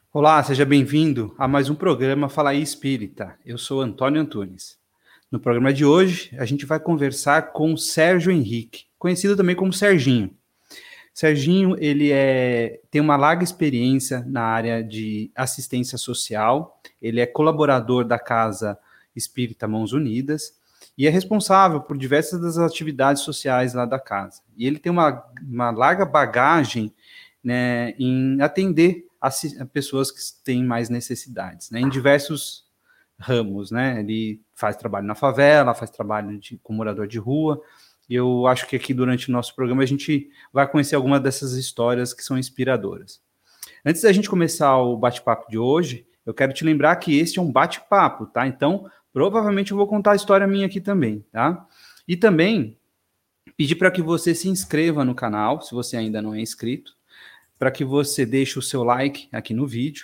Olá, seja bem-vindo a mais um programa Fala aí Espírita. Eu sou Antônio Antunes. No programa de hoje, a gente vai conversar com Sérgio Henrique, conhecido também como Serginho. Serginho, tem uma larga experiência na área de assistência social, ele é colaborador da Casa Espírita Mãos Unidas e é responsável por diversas das atividades sociais lá da casa. E ele tem uma larga bagagem, né, em atender a pessoas que têm mais necessidades, né, em diversos ramos, né? Ele faz trabalho na favela, faz trabalho com morador de rua, e eu acho que aqui durante o nosso programa a gente vai conhecer algumas dessas histórias que são inspiradoras. Antes da gente começar o bate-papo de hoje, eu quero te lembrar que este é um bate-papo, tá? Então, provavelmente eu vou contar a história minha aqui também, tá? E também pedir para que você se inscreva no canal, se você ainda não é inscrito, para que você deixe o seu like aqui no vídeo.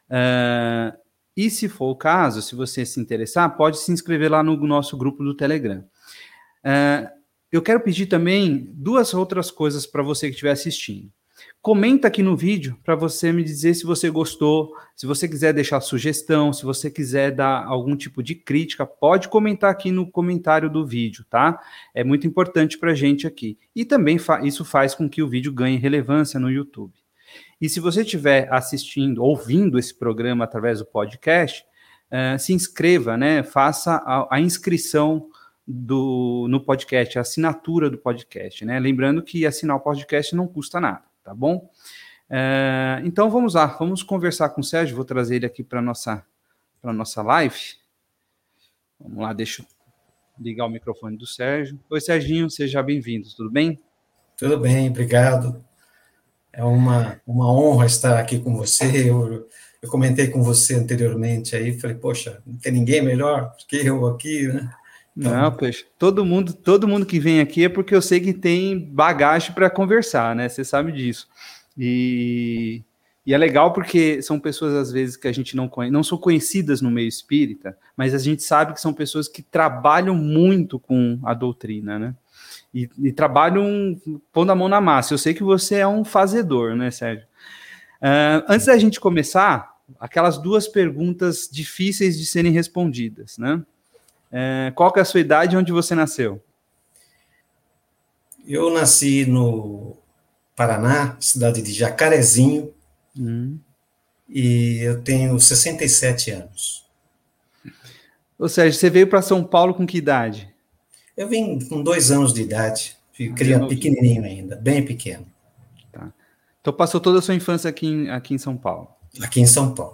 E se for o caso, se você se interessar, pode se inscrever lá no nosso grupo do Telegram. Eu quero pedir também duas outras coisas para você que estiver assistindo. Comenta aqui no vídeo para você me dizer se você gostou, se você quiser deixar sugestão, se você quiser dar algum tipo de crítica, pode comentar aqui no comentário do vídeo, tá? É muito importante para a gente aqui. E também isso faz com que o vídeo ganhe relevância no YouTube. E se você estiver assistindo, ouvindo esse programa através do podcast, se inscreva, né? Faça a inscrição no podcast, a assinatura do podcast, né? Lembrando que assinar o podcast não custa nada, tá bom? Então vamos lá, vamos conversar com o Sérgio, vou trazer ele aqui para a nossa live. Vamos lá, deixa eu ligar o microfone do Sérgio. Oi, Serginho, seja bem-vindo, tudo bem? Tudo bem, obrigado. É uma honra estar aqui com você. Eu comentei com você anteriormente aí, falei, poxa, não tem ninguém melhor que eu aqui, né? Não, Então, poxa, todo mundo que vem aqui é porque eu sei que tem bagagem para conversar, né? Você sabe disso. E é legal porque são pessoas, às vezes, que a gente não conhece, não são conhecidas no meio espírita, mas a gente sabe que são pessoas que trabalham muito com a doutrina, né? E trabalham pondo a mão na massa. Eu sei que você é um fazedor, né, Sérgio? Antes da gente começar, aquelas duas perguntas difíceis de serem respondidas, né? Qual que é a sua idade e onde você nasceu? eu nasci no Paraná, cidade de Jacarezinho, e eu tenho 67 anos. Ou seja, você veio para São Paulo com que idade? Eu vim com 2 anos de idade, fui Bem criança novinho. pequenininho ainda, bem pequeno, Tá. Então passou toda a sua infância aqui em São Paulo. aqui em São Paulo.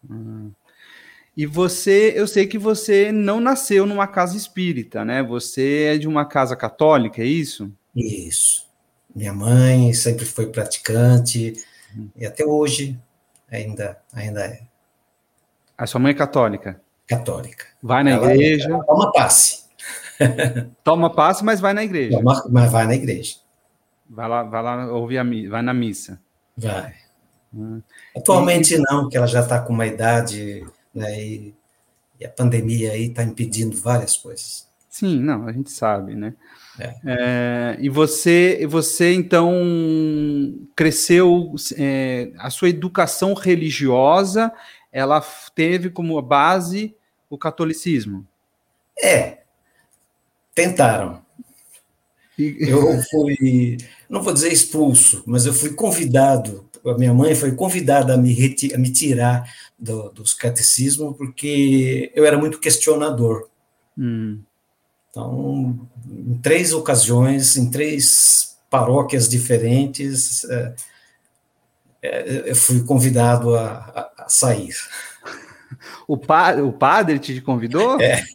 E eu sei que você não nasceu numa casa espírita, né? Você é de uma casa católica, é isso? Isso. Minha mãe sempre foi praticante, e até hoje ainda é A sua mãe é católica. católica. Vai na Ela igreja, toma passe, toma passe, mas vai na igreja. mas vai na igreja. Vai lá ouvir vai na missa. Vai. Hum. E, Atualmente não, porque ela já está com uma idade, né, e a pandemia aí está impedindo várias coisas. sim, não, a gente sabe, né? É. E você então cresceu, a sua educação religiosa, ela teve como base o catolicismo. É, tentaram. E, Eu fui, não vou dizer expulso, mas eu fui convidado, a minha mãe foi convidada a me tirar dos catecismos, porque eu era muito questionador. hum, Então, em 3 ocasiões, em 3 paróquias diferentes, eu fui convidado a sair. o padre te convidou? É,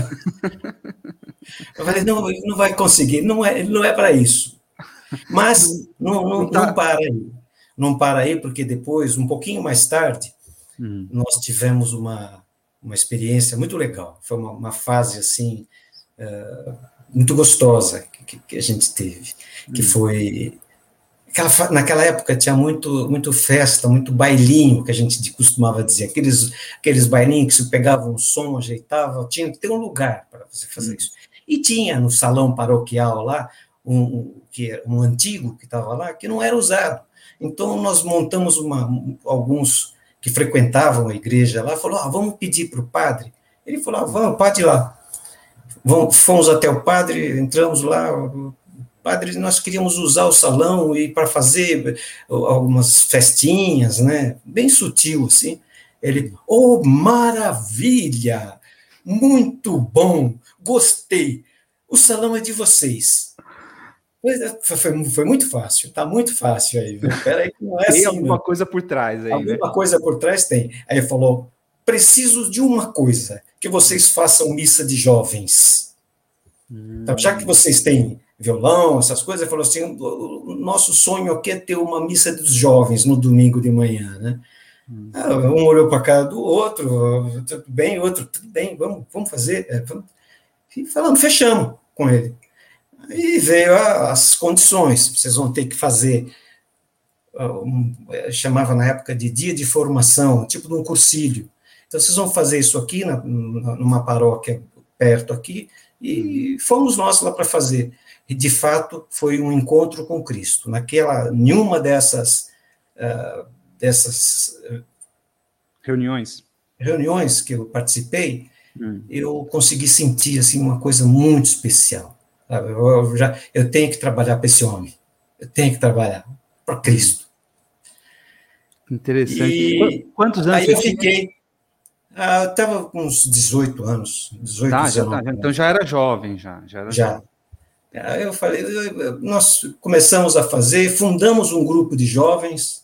eu falei, não, ele não vai conseguir, não é para isso. Mas Não não tá. para aí. Não para aí, porque depois, um pouquinho mais tarde, Hum, nós tivemos uma experiência muito legal. Foi uma fase, assim, muito gostosa que a gente teve, que hum, foi naquela época tinha muito festa, muito bailinho, que a gente costumava dizer, aqueles bailinhos que você pegava um som, ajeitava, tinha que ter um lugar para você fazer hum, isso. E tinha no salão paroquial lá, um antigo que estava lá, que não era usado. Então, nós montamos alguns que frequentavam a igreja lá, falou, vamos pedir para o padre. Ele falou, vamos, pode ir lá. Fomos até o padre, entramos lá, padre, nós queríamos usar o salão e para fazer algumas festinhas, né? Bem sutil, assim. Ele, maravilha! Muito bom! Gostei! O salão é de vocês. Foi muito fácil, está muito fácil aí. Peraí, que não é tem assim. Tem alguma coisa por trás aí, alguma coisa por trás tem. Aí ele falou, preciso de uma coisa, que vocês façam missa de jovens. Então, já que vocês têm violão, essas coisas, ele falou assim, o nosso sonho aqui é ter uma missa dos jovens no domingo de manhã, né? Um olhou para a cara do outro, tudo bem, outro, tudo bem, vamos fazer. E falando, fechamos com ele. E veio as condições, vocês vão ter que fazer, chamava na época de dia de formação, tipo de um cursilho. Então, vocês vão fazer isso aqui, numa paróquia perto aqui, e fomos nós lá para fazer. E, de fato, foi um encontro com Cristo. Nenhuma dessas reuniões que eu participei, eu consegui sentir assim, uma coisa muito especial. Eu tenho que trabalhar para esse homem. Eu tenho que trabalhar para Cristo. Interessante. Quantos anos aí eu fiquei... eu estava com uns 18 anos. 18, 19 então já era jovem. Já. Aí eu falei, nós começamos a fazer, fundamos um grupo de jovens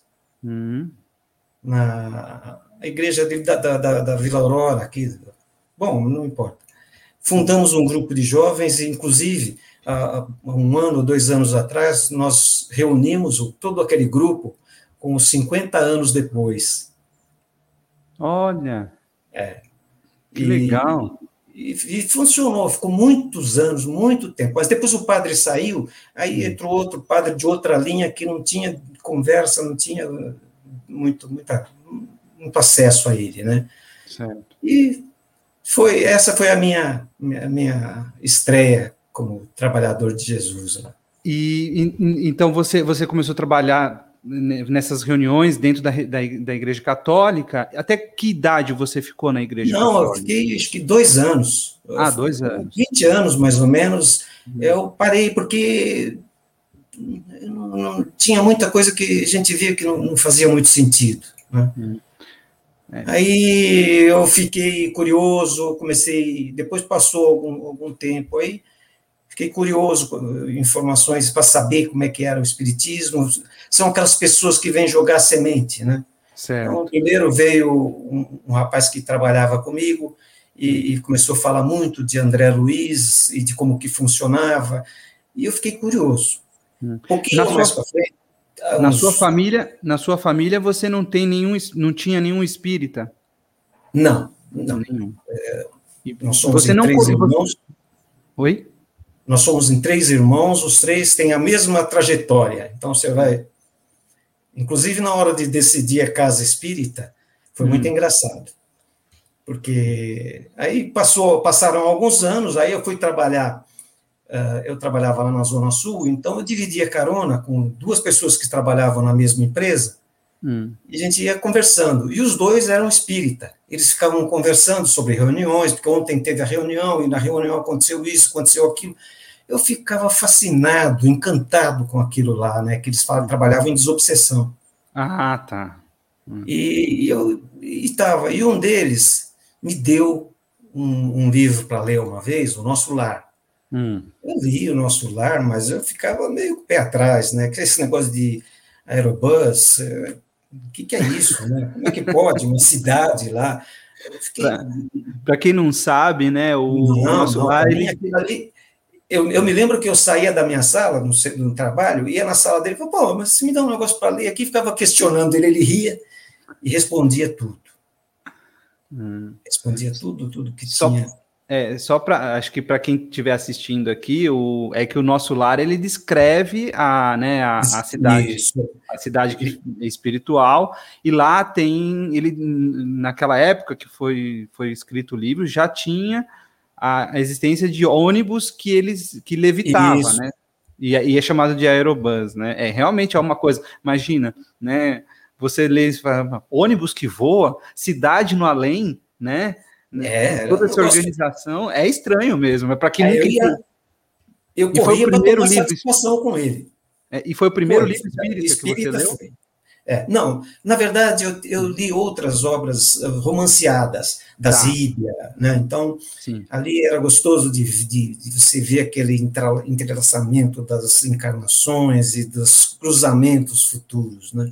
na igreja da Vila Aurora, aqui. Bom, não importa. Fundamos um grupo de jovens, e, inclusive, há 1 ano, 2 anos atrás, nós reunimos todo aquele grupo com os 50 anos depois. Olha! Que legal! E funcionou, ficou muitos anos, muito tempo. Mas depois o padre saiu, aí entrou outro padre de outra linha que não tinha conversa, não tinha muito acesso a ele, né? Certo. E essa foi a minha estreia como trabalhador de Jesus lá. E então você começou a trabalhar nessas reuniões dentro da Igreja Católica? Até que idade você ficou na Igreja Católica? Não, eu fiquei acho que 2 anos. 2 anos. 20 anos, mais ou menos. Eu parei porque não tinha muita coisa que a gente via que não fazia muito sentido, né? Aí eu fiquei curioso, depois passou algum tempo aí, fiquei curioso com informações para saber como é que era o espiritismo. São aquelas pessoas que vêm jogar semente, né? Certo. Então, primeiro veio um rapaz que trabalhava comigo e começou a falar muito de André Luiz e de como que funcionava, e eu fiquei curioso. Um pouquinho mais para frente. Na sua família você não tinha nenhum espírita? Não. Nós somos em 3 irmãos. Oi? Nós somos em 3 irmãos, os 3 têm a mesma trajetória. Então você vai... Inclusive, na hora de decidir a casa espírita, foi muito engraçado. Porque aí passaram alguns anos, aí eu fui trabalhar... eu trabalhava lá na Zona Sul, então eu dividia carona com 2 pessoas que trabalhavam na mesma empresa, e a gente ia conversando, e os 2 eram espírita, eles ficavam conversando sobre reuniões, porque ontem teve a reunião, e na reunião aconteceu isso, aconteceu aquilo. Eu ficava fascinado, encantado com aquilo lá, né, que eles trabalhavam em desobsessão. Tá. E um deles me deu um livro para ler uma vez, O Nosso Lar. Eu li O Nosso Lar, mas eu ficava meio pé atrás, né? Esse negócio de aerobus, o que é isso, né? Como é que pode uma cidade lá? Para quem não sabe, né? O Nosso Lar, eu me lembro que eu saía da minha sala, no trabalho, ia na sala dele e falava, mas se me dá um negócio para ler aqui, ficava questionando ele ria e respondia tudo. Respondia tudo que tinha. Acho que para quem estiver assistindo aqui, é que o Nosso Lar, ele descreve a cidade espiritual, e lá tem, naquela época que foi escrito o livro, já tinha a existência de ônibus que levitava, né? E é chamado de aerobus, né? Realmente é uma coisa, imagina, né? você lê e fala, ônibus que voa, cidade no além, né? Toda essa organização é estranho mesmo, é para quem nunca... Eu corria para tomar satisfação com ele. E foi o primeiro livro espírita que você leu? Foi. Não, na verdade, eu li outras obras romanceadas, da Zíbia, né? Então, ali era gostoso de você ver aquele entrelaçamento das encarnações e dos cruzamentos futuros, né?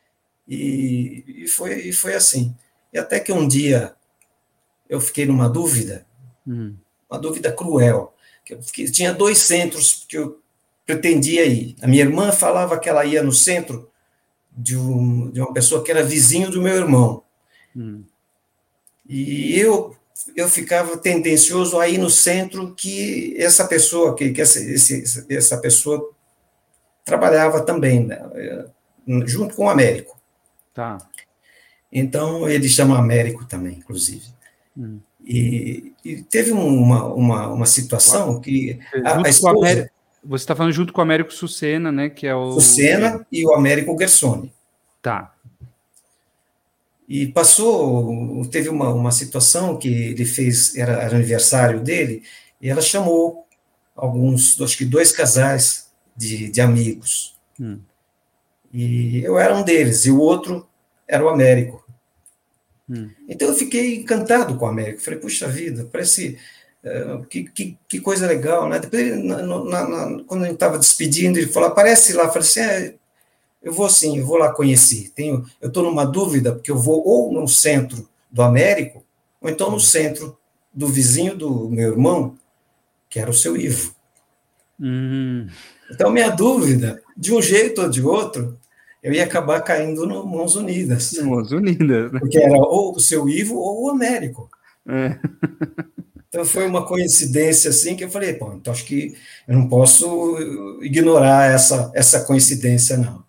E foi assim. E até que um dia eu fiquei numa dúvida, uma dúvida cruel, que tinha 2 centros que eu pretendia ir. A minha irmã falava que ela ia no centro de uma pessoa que era vizinho do meu irmão. E eu ficava tendencioso a ir no centro que essa pessoa, essa pessoa trabalhava também, né, junto com o Américo. Tá. Então, ele chama Américo também, inclusive. E teve uma situação que a esposa... Você está falando junto com o Américo Sucena, né? Que é o Sucena e o Américo Gersoni. Tá. E teve uma situação que ele fez, era aniversário dele, e ela chamou acho que 2 casais de amigos. E eu era um deles, e o outro era o Américo. Então eu fiquei encantado com o Américo. Falei, puxa vida, parece... que coisa legal, né? Depois, quando a gente estava despedindo, ele falou, aparece lá. Eu falei assim, eu vou lá conhecer. Eu estou numa dúvida, porque eu vou ou no centro do Américo, ou então no centro do vizinho do meu irmão, que era o seu Ivo. Então, minha dúvida, de um jeito ou de outro, eu ia acabar caindo no Mãos Unidas. Mãos Unidas, né? Porque era ou o seu Ivo ou o Américo. Então, foi uma coincidência, assim, que eu falei, pô, então acho que eu não posso ignorar essa coincidência, não.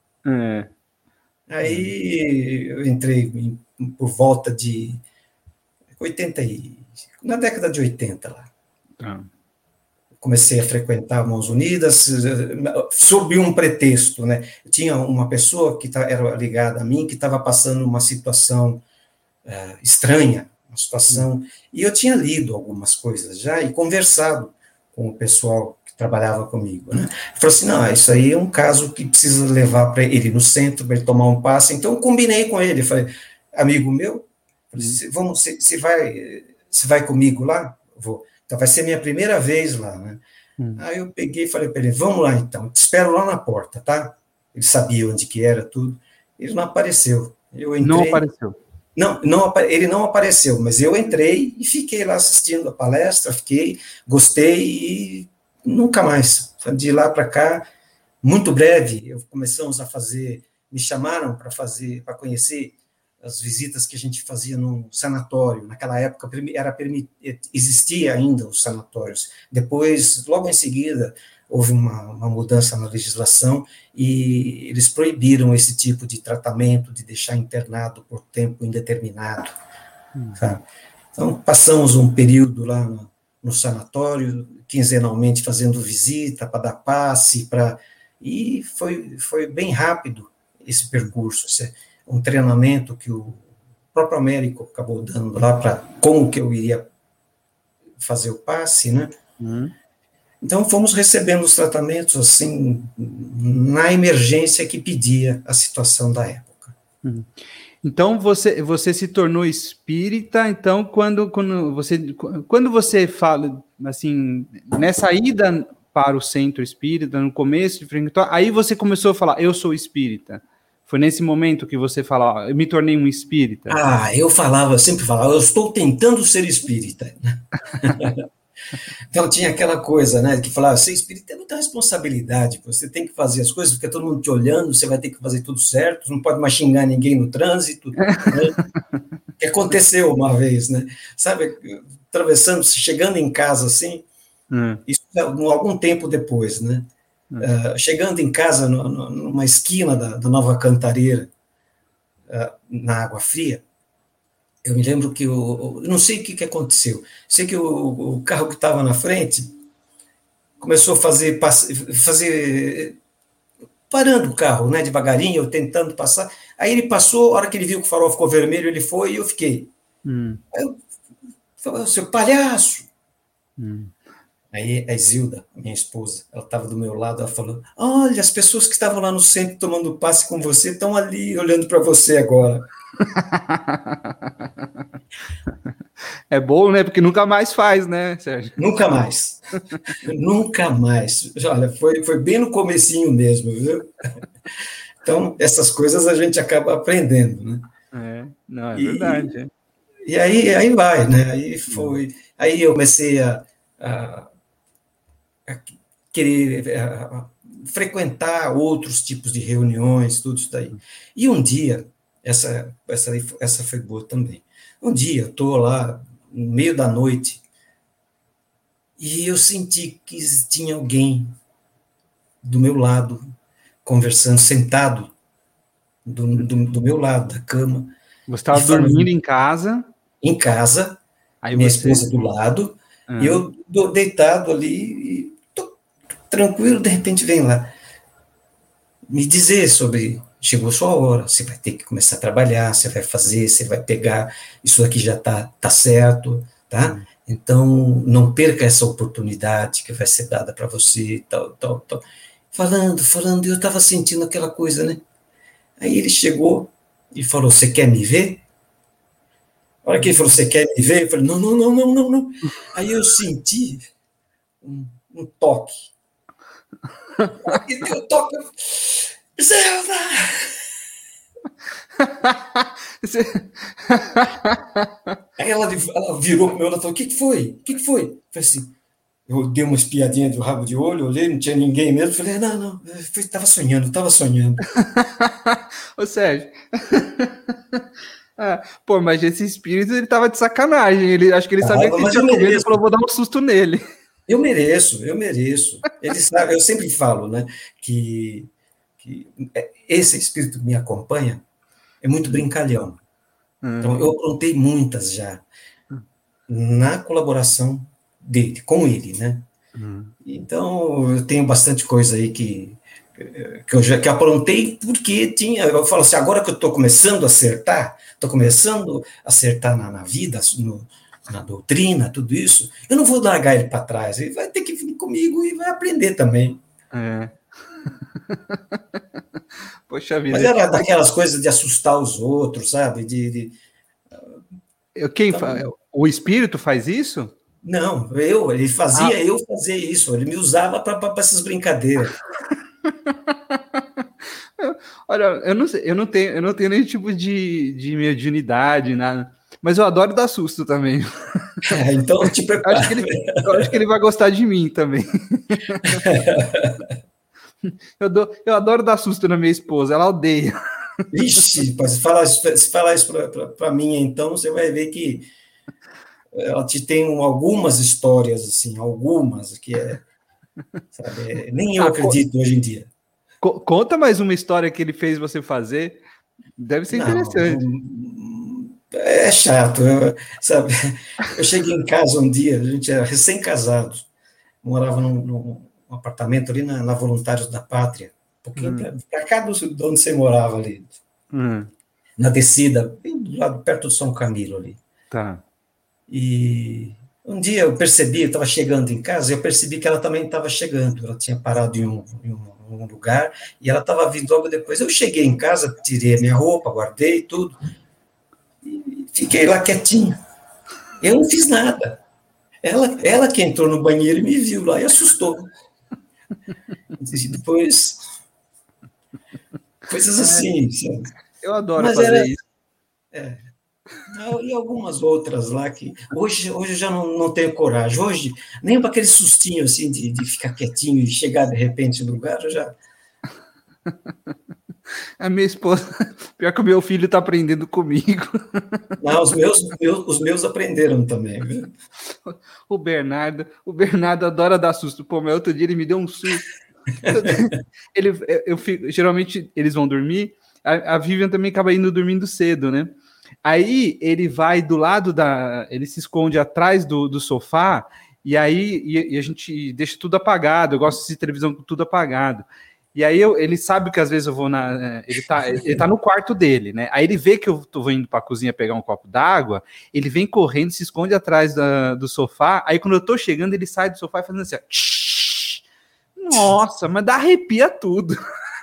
Aí, eu entrei por volta de 80, na década de 80, lá. Comecei a frequentar Mãos Unidas, sob um pretexto, né? Tinha uma pessoa que era ligada a mim, que estava passando uma situação estranha, uma situação, e eu tinha lido algumas coisas já e conversado com o pessoal que trabalhava comigo, né? Falei assim, não, isso aí é um caso que precisa levar para ele no centro, para ele tomar um passe. Então eu combinei com ele, falei, amigo meu, você vai comigo lá? Vou. Então vai ser minha primeira vez lá, né? Aí eu peguei e falei para ele, vamos lá então, te espero lá na porta, tá? Ele sabia onde que era, tudo. Ele não apareceu. Eu entrei, não apareceu. Ele não apareceu, mas eu entrei e fiquei lá assistindo a palestra, gostei e nunca mais. De lá para cá, muito breve, começamos a fazer, me chamaram para conhecer as visitas que a gente fazia no sanatório. Naquela época existia ainda os sanatórios. Depois, logo em seguida, houve uma mudança na legislação e eles proibiram esse tipo de tratamento, de deixar internado por tempo indeterminado. Sabe? Então, passamos um período lá no sanatório, quinzenalmente fazendo visita para dar passe, e foi bem rápido esse percurso, um treinamento que o próprio Américo acabou dando lá para como que eu iria fazer o passe, né? Então, fomos recebendo os tratamentos, assim, na emergência que pedia a situação da época. Então, você se tornou espírita, então, quando você fala, assim, nessa ida para o centro espírita, no começo, aí você começou a falar, eu sou espírita. Foi nesse momento que você fala, eu me tornei um espírita? Eu sempre falava, eu estou tentando ser espírita. Então tinha aquela coisa, né, que falava, ser espírita é muita responsabilidade, você tem que fazer as coisas, fica todo mundo te olhando, você vai ter que fazer tudo certo, não pode mais xingar ninguém no trânsito, né? Que aconteceu uma vez, né, sabe, chegando em casa assim, isso algum tempo depois, né, chegando em casa numa esquina da Nova Cantareira, na Água Fria, eu me lembro que eu não sei o que aconteceu. Sei que o carro que estava na frente começou a fazer parando o carro, né, devagarinho, eu tentando passar. Aí ele passou, a hora que ele viu que o farol ficou vermelho, ele foi e eu fiquei. Aí eu falei, seu palhaço! Aí a Isilda, minha esposa, ela estava do meu lado, ela falou, olha, as pessoas que estavam lá no centro tomando passe com você estão ali olhando para você agora. É bom, né? Porque nunca mais faz, né, Sérgio? Nunca mais. Nunca mais. Olha, foi bem no comecinho mesmo, viu? Então, essas coisas a gente acaba aprendendo, né? Não, é verdade. E aí vai, né? Aí eu comecei a querer frequentar outros tipos de reuniões, tudo isso daí. E um dia, essa foi boa também. Um dia, eu estou lá, no meio da noite, e eu senti que tinha alguém do meu lado, conversando, sentado do meu lado da cama. Você estava dormindo em casa. Em casa, aí minha esposa do lado, e eu deitado ali, e tô tranquilo, de repente vem lá me dizer sobre, chegou a sua hora, você vai ter que começar a trabalhar, você vai fazer, você vai pegar, isso aqui já tá certo, tá? Então, não perca essa oportunidade que vai ser dada para você, tal. Falando, eu estava sentindo aquela coisa, né? Aí ele chegou e falou, você quer me ver? A hora que ele falou, você quer me ver? Eu falei, não. Aí eu senti um toque. E deu toque. Zelda! Aí ela virou para o meu lado e falou, o que foi? Eu falei assim, eu dei uma espiadinha do rabo de olho, olhei, não tinha ninguém mesmo, falei, não, estava sonhando. Ô, Sérgio, pô, mas esse espírito, ele tava de sacanagem, acho que ele sabia que você tinha comido e falou, vou dar um susto nele. Eu mereço. Ele sabe, eu sempre falo, né, que esse espírito que me acompanha é muito brincalhão. Então, eu aprontei muitas já na colaboração dele, com ele, né? Então, eu tenho bastante coisa aí que eu aprontei porque eu falo assim, agora que eu estou começando a acertar, na vida, na doutrina, tudo isso, eu não vou largar ele para trás, ele vai ter que vir comigo e vai aprender também. Poxa vida. Mas era daquelas coisas de assustar os outros, sabe? O espírito faz isso? Não, ele fazia eu fazer isso, ele me usava para essas brincadeiras. Olha, eu não tenho nenhum tipo de mediunidade, nada. Mas eu adoro dar susto também. Então, te prepara. Eu acho que ele vai gostar de mim também. Eu adoro dar susto na minha esposa, ela odeia. Ixi, se falar isso para mim, então, você vai ver que ela te tem algumas histórias, assim, algumas, que sabe, nem eu acredito hoje em dia. Conta mais uma história que ele fez você fazer. Deve ser interessante. É chato, sabe? Eu cheguei em casa um dia, a gente era recém-casado, morava num apartamento ali na Voluntários da Pátria, um pouquinho para cá de onde você morava ali, na descida, bem do lado, perto do São Camilo ali. Tá. E um dia eu estava chegando em casa, eu percebi que ela também estava chegando, ela tinha parado em um lugar, e ela estava vindo logo depois. Eu cheguei em casa, tirei a minha roupa, guardei tudo, e fiquei lá quietinho. Eu não fiz nada. Ela que entrou no banheiro e me viu lá e assustou. E depois, coisas assim. Sabe? Eu adoro fazer isso. E algumas outras lá que hoje eu já não tenho coragem. Hoje, nem para aquele sustinho assim de ficar quietinho e chegar de repente no lugar, eu já. A minha esposa, pior que o meu filho está aprendendo comigo. Não, os meus aprenderam também, viu? O Bernardo adora dar susto. Pô, mas outro dia ele me deu um susto. Geralmente eles vão dormir. A Vivian também acaba indo dormindo cedo, né? Aí ele vai do lado ele se esconde atrás do sofá e aí a gente deixa tudo apagado. Eu gosto de televisão com tudo apagado. E aí ele sabe que às vezes eu vou ele tá no quarto dele, né? Aí ele vê que eu tô indo pra cozinha pegar um copo d'água, ele vem correndo, se esconde atrás do sofá, aí quando eu tô chegando, ele sai do sofá e fazendo assim, ó, tsh. Nossa, mas dá arrepia tudo.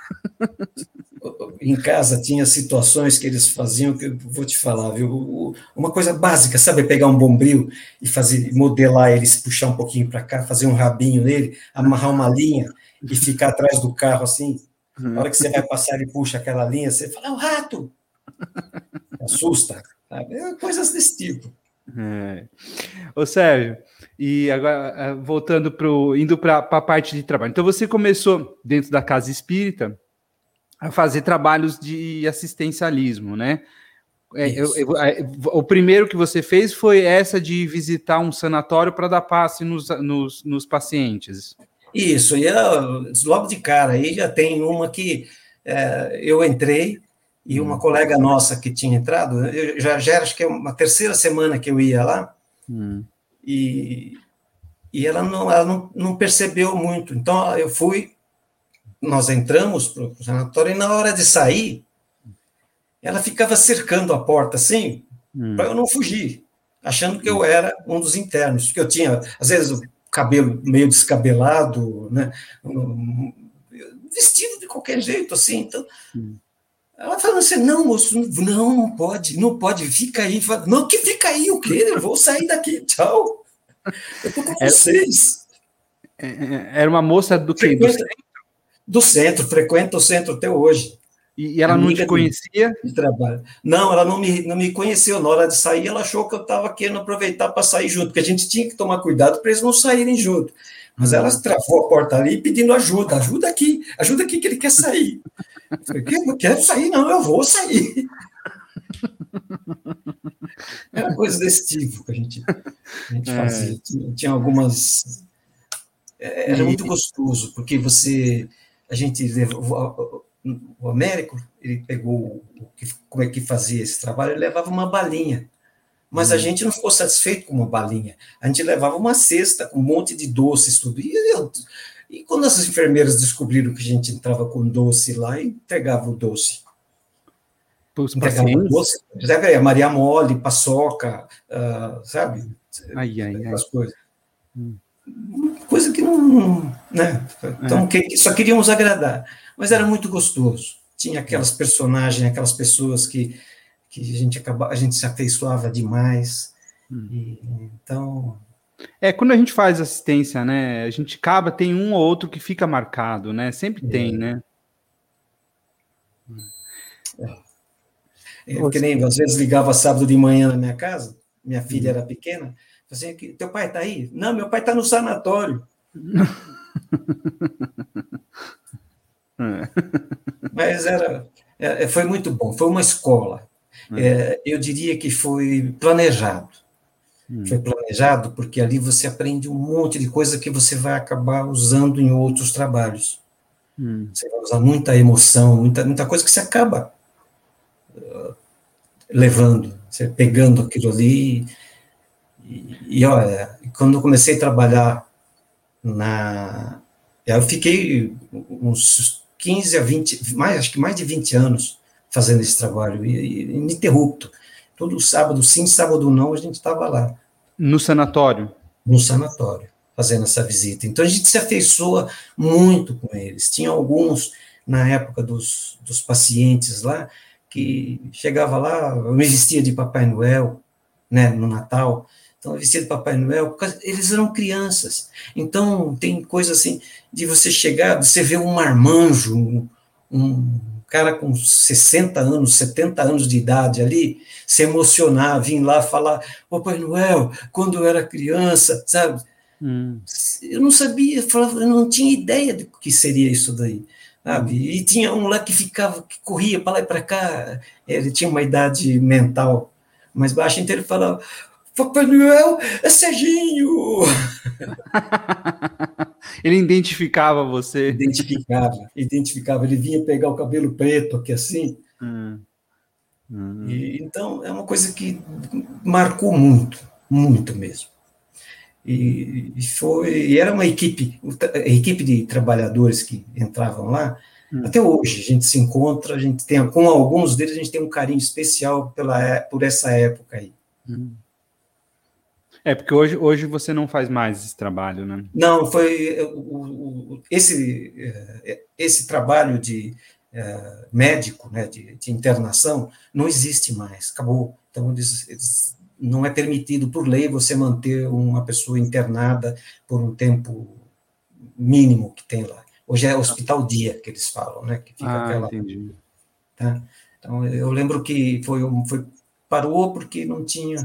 Em casa tinha situações que eles faziam que eu vou te falar, viu? Uma coisa básica, sabe? Pegar um bombril e fazer, modelar eles, puxar um pouquinho para cá, fazer um rabinho nele, amarrar uma linha e ficar atrás do carro assim. Na hora que você vai passar, ele puxa aquela linha, você fala, é um rato! Assusta, sabe? Coisas desse tipo. Ô Sérgio, e agora indo para a parte de trabalho. Então você começou dentro da casa espírita a fazer trabalhos de assistencialismo, né? Isso. O primeiro que você fez foi essa de visitar um sanatório para dar passe nos pacientes. Isso, e logo de cara, aí já tem uma que eu entrei, e uma colega nossa que tinha entrado, eu já era, acho que é uma terceira semana que eu ia lá, e ela não percebeu muito. Então, nós entramos para o sanatório, e na hora de sair, ela ficava cercando a porta, assim, para eu não fugir, achando que eu era um dos internos, porque eu tinha, às vezes, o cabelo meio descabelado, né, vestido de qualquer jeito, assim, então... Ela falou assim, não, moço, não pode, fica aí. Falo, não, que fica aí, o quê? Eu vou sair daqui, tchau. Eu tô com vocês. Era uma moça do quê? Do centro, frequenta o centro até hoje. E ela não te conhecia? De trabalho. Não, ela não me conheceu. Na hora de sair, ela achou que eu estava querendo aproveitar para sair junto, porque a gente tinha que tomar cuidado para eles não saírem junto. Mas ela travou a porta ali pedindo ajuda que ele quer sair. Eu falei, eu não quero sair, não, eu vou sair. Era coisa desse tipo que a gente fazia. Tinha algumas... Era muito gostoso, porque a gente levou... O Américo, ele pegou como é que fazia esse trabalho, ele levava uma balinha. Mas a gente não ficou satisfeito com uma balinha. A gente levava uma cesta com um monte de doces, tudo. E quando as enfermeiras descobriram que a gente entrava com doce lá, entregava o doce. Entregava o doce. Maria Mole, paçoca, sabe? Aquelas coisas. Coisa que não... Né? Então, só queríamos agradar. Mas era muito gostoso. Tinha aquelas personagens, aquelas pessoas que a gente se afeiçoava demais. Então... quando a gente faz assistência, né, a gente tem um ou outro que fica marcado, né? Sempre tem, né? Que nem, às vezes, ligava sábado de manhã na minha casa, minha filha era pequena, assim, teu pai está aí? Não, meu pai está no sanatório. Mas foi muito bom, foi uma escola. Eu diria que foi planejado. Foi planejado porque ali você aprende um monte de coisa que você vai acabar usando em outros trabalhos. Você vai usar muita emoção, muita coisa que você acaba levando, você pegando aquilo ali. E olha, quando eu comecei a trabalhar eu fiquei uns 15 a 20, acho que mais de 20 anos fazendo esse trabalho, ininterrupto. Todo sábado sim, sábado não, a gente estava lá. No sanatório? No sanatório, fazendo essa visita. Então a gente se afeiçoa muito com eles. Tinha alguns, na época dos pacientes lá, que chegava lá, eu me vestia de Papai Noel, né, no Natal. Então, vestido de Papai Noel, porque eles eram crianças. Então, tem coisa assim, de você chegar, você ver um marmanjo, um cara com 60 anos, 70 anos de idade ali, se emocionar, vir lá falar, Papai Noel, quando eu era criança, sabe? Eu não sabia, eu não tinha ideia do que seria isso daí, sabe? E tinha um lá que corria para lá e para cá, ele tinha uma idade mental mais baixa, então ele falava, Papai Noel é Serginho! Ele identificava você? Identificava. Ele vinha pegar o cabelo preto aqui assim. Então, é uma coisa que marcou muito, muito mesmo. E era uma equipe, a equipe de trabalhadores que entravam lá. Até hoje a gente se encontra, a gente tem, com alguns deles a gente tem um carinho especial por essa época aí. Porque hoje você não faz mais esse trabalho, né? Não, foi esse trabalho de médico, né, de internação, não existe mais, acabou. Então, não é permitido por lei você manter uma pessoa internada por um tempo mínimo que tem lá. Hoje é hospital dia que eles falam, né? Que fica aquela. Entendi. Tá? Então, eu lembro que parou porque não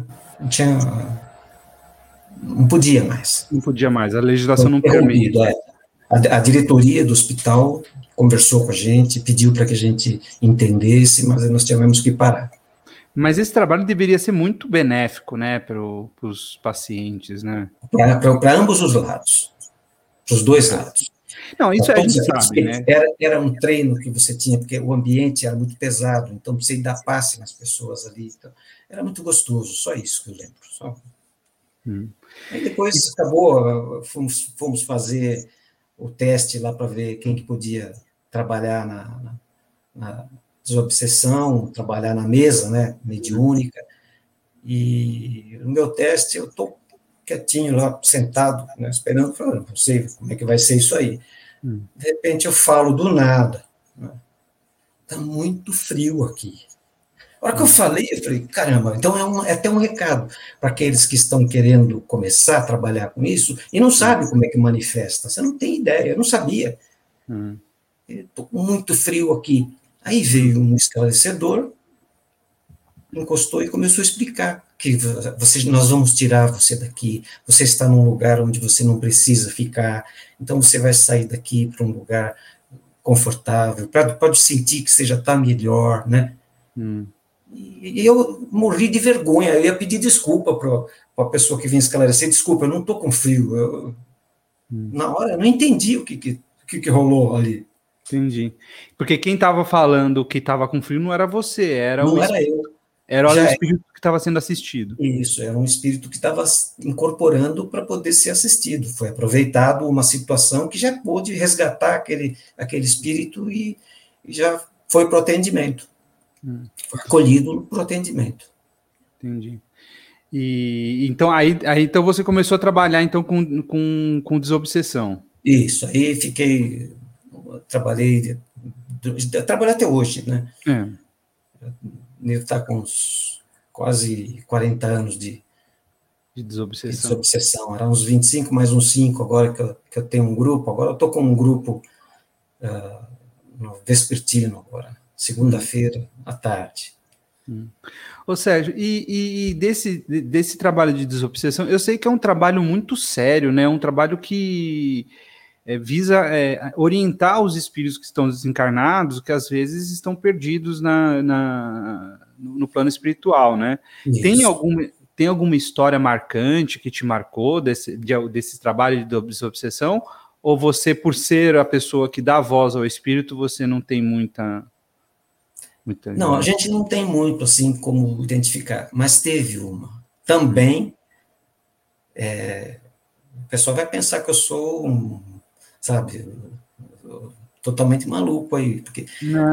podia mais. Não podia mais, a legislação não permite. A diretoria do hospital conversou com a gente, pediu para que a gente entendesse, mas nós tivemos que parar. Mas esse trabalho deveria ser muito benéfico, né, para os pacientes, né? Para ambos os lados, para os dois lados. Não, isso a gente sabe, né? Era um treino que você tinha, porque o ambiente era muito pesado, então você dar passe nas pessoas ali. Então, era muito gostoso, só isso que eu lembro. Só. Aí depois acabou, fomos fazer o teste lá para ver quem que podia trabalhar na desobsessão, trabalhar na mesa, né, mediúnica. E no meu teste eu estou quietinho lá, sentado, né, esperando, falando, não sei como é que vai ser isso aí. De repente eu falo do nada, está muito frio aqui. A hora que eu falei, caramba, então é até um recado para aqueles que estão querendo começar a trabalhar com isso e não sabem como é que manifesta. Você não tem ideia, eu não sabia. Estou com muito frio aqui. Aí veio um esclarecedor, encostou e começou a explicar que nós vamos tirar você daqui, você está num lugar onde você não precisa ficar, então você vai sair daqui para um lugar confortável, pode sentir que você já está melhor, né? E eu morri de vergonha, eu ia pedir desculpa para a pessoa que vinha esclarecer, desculpa, eu não estou com frio. Na hora eu não entendi o que rolou ali. Entendi. Porque quem estava falando que estava com frio não era você, era não era eu. Era o espírito que estava sendo assistido. Isso, era um espírito que estava incorporando para poder ser assistido. Foi aproveitado uma situação que já pôde resgatar aquele espírito e já foi para o atendimento. Foi acolhido para o atendimento. Entendi. E então então você começou a trabalhar então com desobsessão. Isso, aí trabalhei até hoje, né? Ele está com uns quase 40 anos de desobsessão. Era uns 25 mais uns 5 agora que eu tenho um grupo. Agora eu estou com um grupo no vespertino agora, segunda-feira à tarde. Ô Sérgio, e desse trabalho de desobsessão, eu sei que é um trabalho muito sério, né? Um trabalho que visa orientar os espíritos que estão desencarnados, que às vezes estão perdidos no plano espiritual, né? Tem alguma história marcante que te marcou desse trabalho de desobsessão? Ou você, por ser a pessoa que dá voz ao espírito, você não tem muita... Não, a gente não tem muito, assim, como identificar, mas teve uma. Também, o pessoal vai pensar que eu sou totalmente maluco aí, porque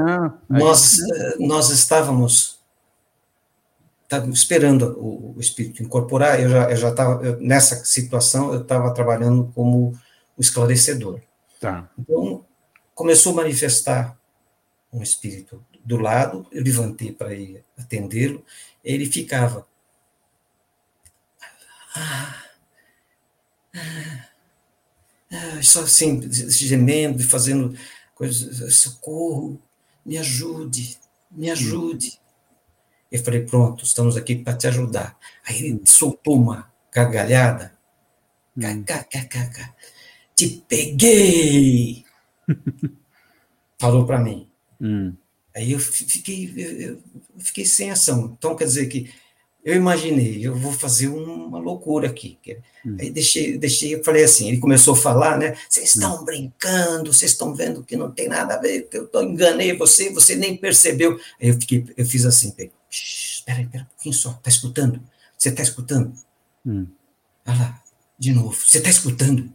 nós estávamos esperando o espírito incorporar, eu já estava, nessa situação, eu estava trabalhando como o esclarecedor. Tá. Então, começou a manifestar um espírito do lado, eu levantei para ir atendê-lo, ele ficava só assim, gemendo e fazendo coisas, socorro, me ajude. Eu falei, pronto, estamos aqui para te ajudar. Aí ele soltou uma gargalhada, te peguei, falou para mim. Aí eu fiquei sem ação. Então, quer dizer que eu imaginei, eu vou fazer uma loucura aqui. Aí eu falei assim, ele começou a falar, né? Vocês estão brincando, vocês estão vendo que não tem nada a ver, que eu enganei você nem percebeu. Aí eu fiz assim, espera um pouquinho só, tá escutando? Você tá escutando? Olha lá. de novo, você está escutando?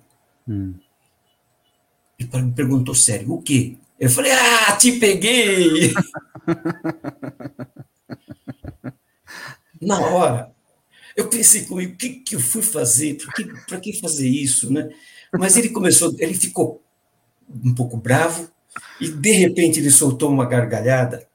E me perguntou sério, o quê? Eu falei, te peguei! Na hora, eu pensei comigo, o que eu fui fazer? Para que fazer isso, né? Mas ele ficou um pouco bravo, e de repente ele soltou uma gargalhada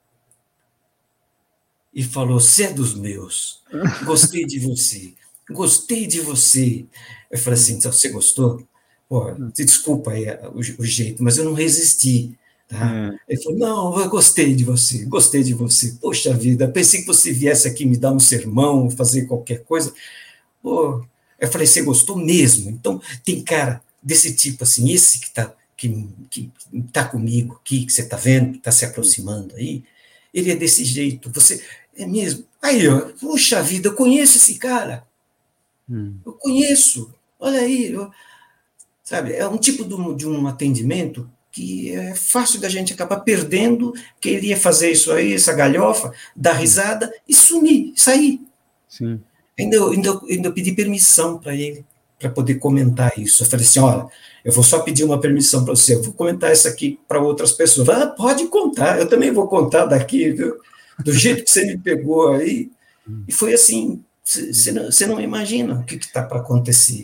e falou, você é dos meus, gostei de você, gostei de você. Eu falei assim, então, você gostou? Pô, desculpa aí o jeito, mas eu não resisti. Tá? Ele falou, não, eu gostei de você, gostei de você. Poxa vida, pensei que você viesse aqui me dar um sermão, fazer qualquer coisa. Pô, eu falei, você gostou mesmo? Então, tem cara desse tipo, assim, esse que tá comigo aqui, que você está vendo, que está se aproximando aí, ele é desse jeito, você é mesmo. Aí, ó, puxa vida, eu conheço esse cara, eu conheço, olha aí, sabe, é um tipo de um atendimento que é fácil da gente acabar perdendo, que ele ia fazer isso aí, essa galhofa, dar risada e sumir, sair. Sim. Ainda pedi permissão para ele, para poder comentar isso. Eu falei assim, olha, eu vou só pedir uma permissão para você, eu vou comentar isso aqui para outras pessoas. Pode contar, eu também vou contar daqui, viu? Do jeito que você me pegou aí. E foi assim, você não imagina o que está para acontecer.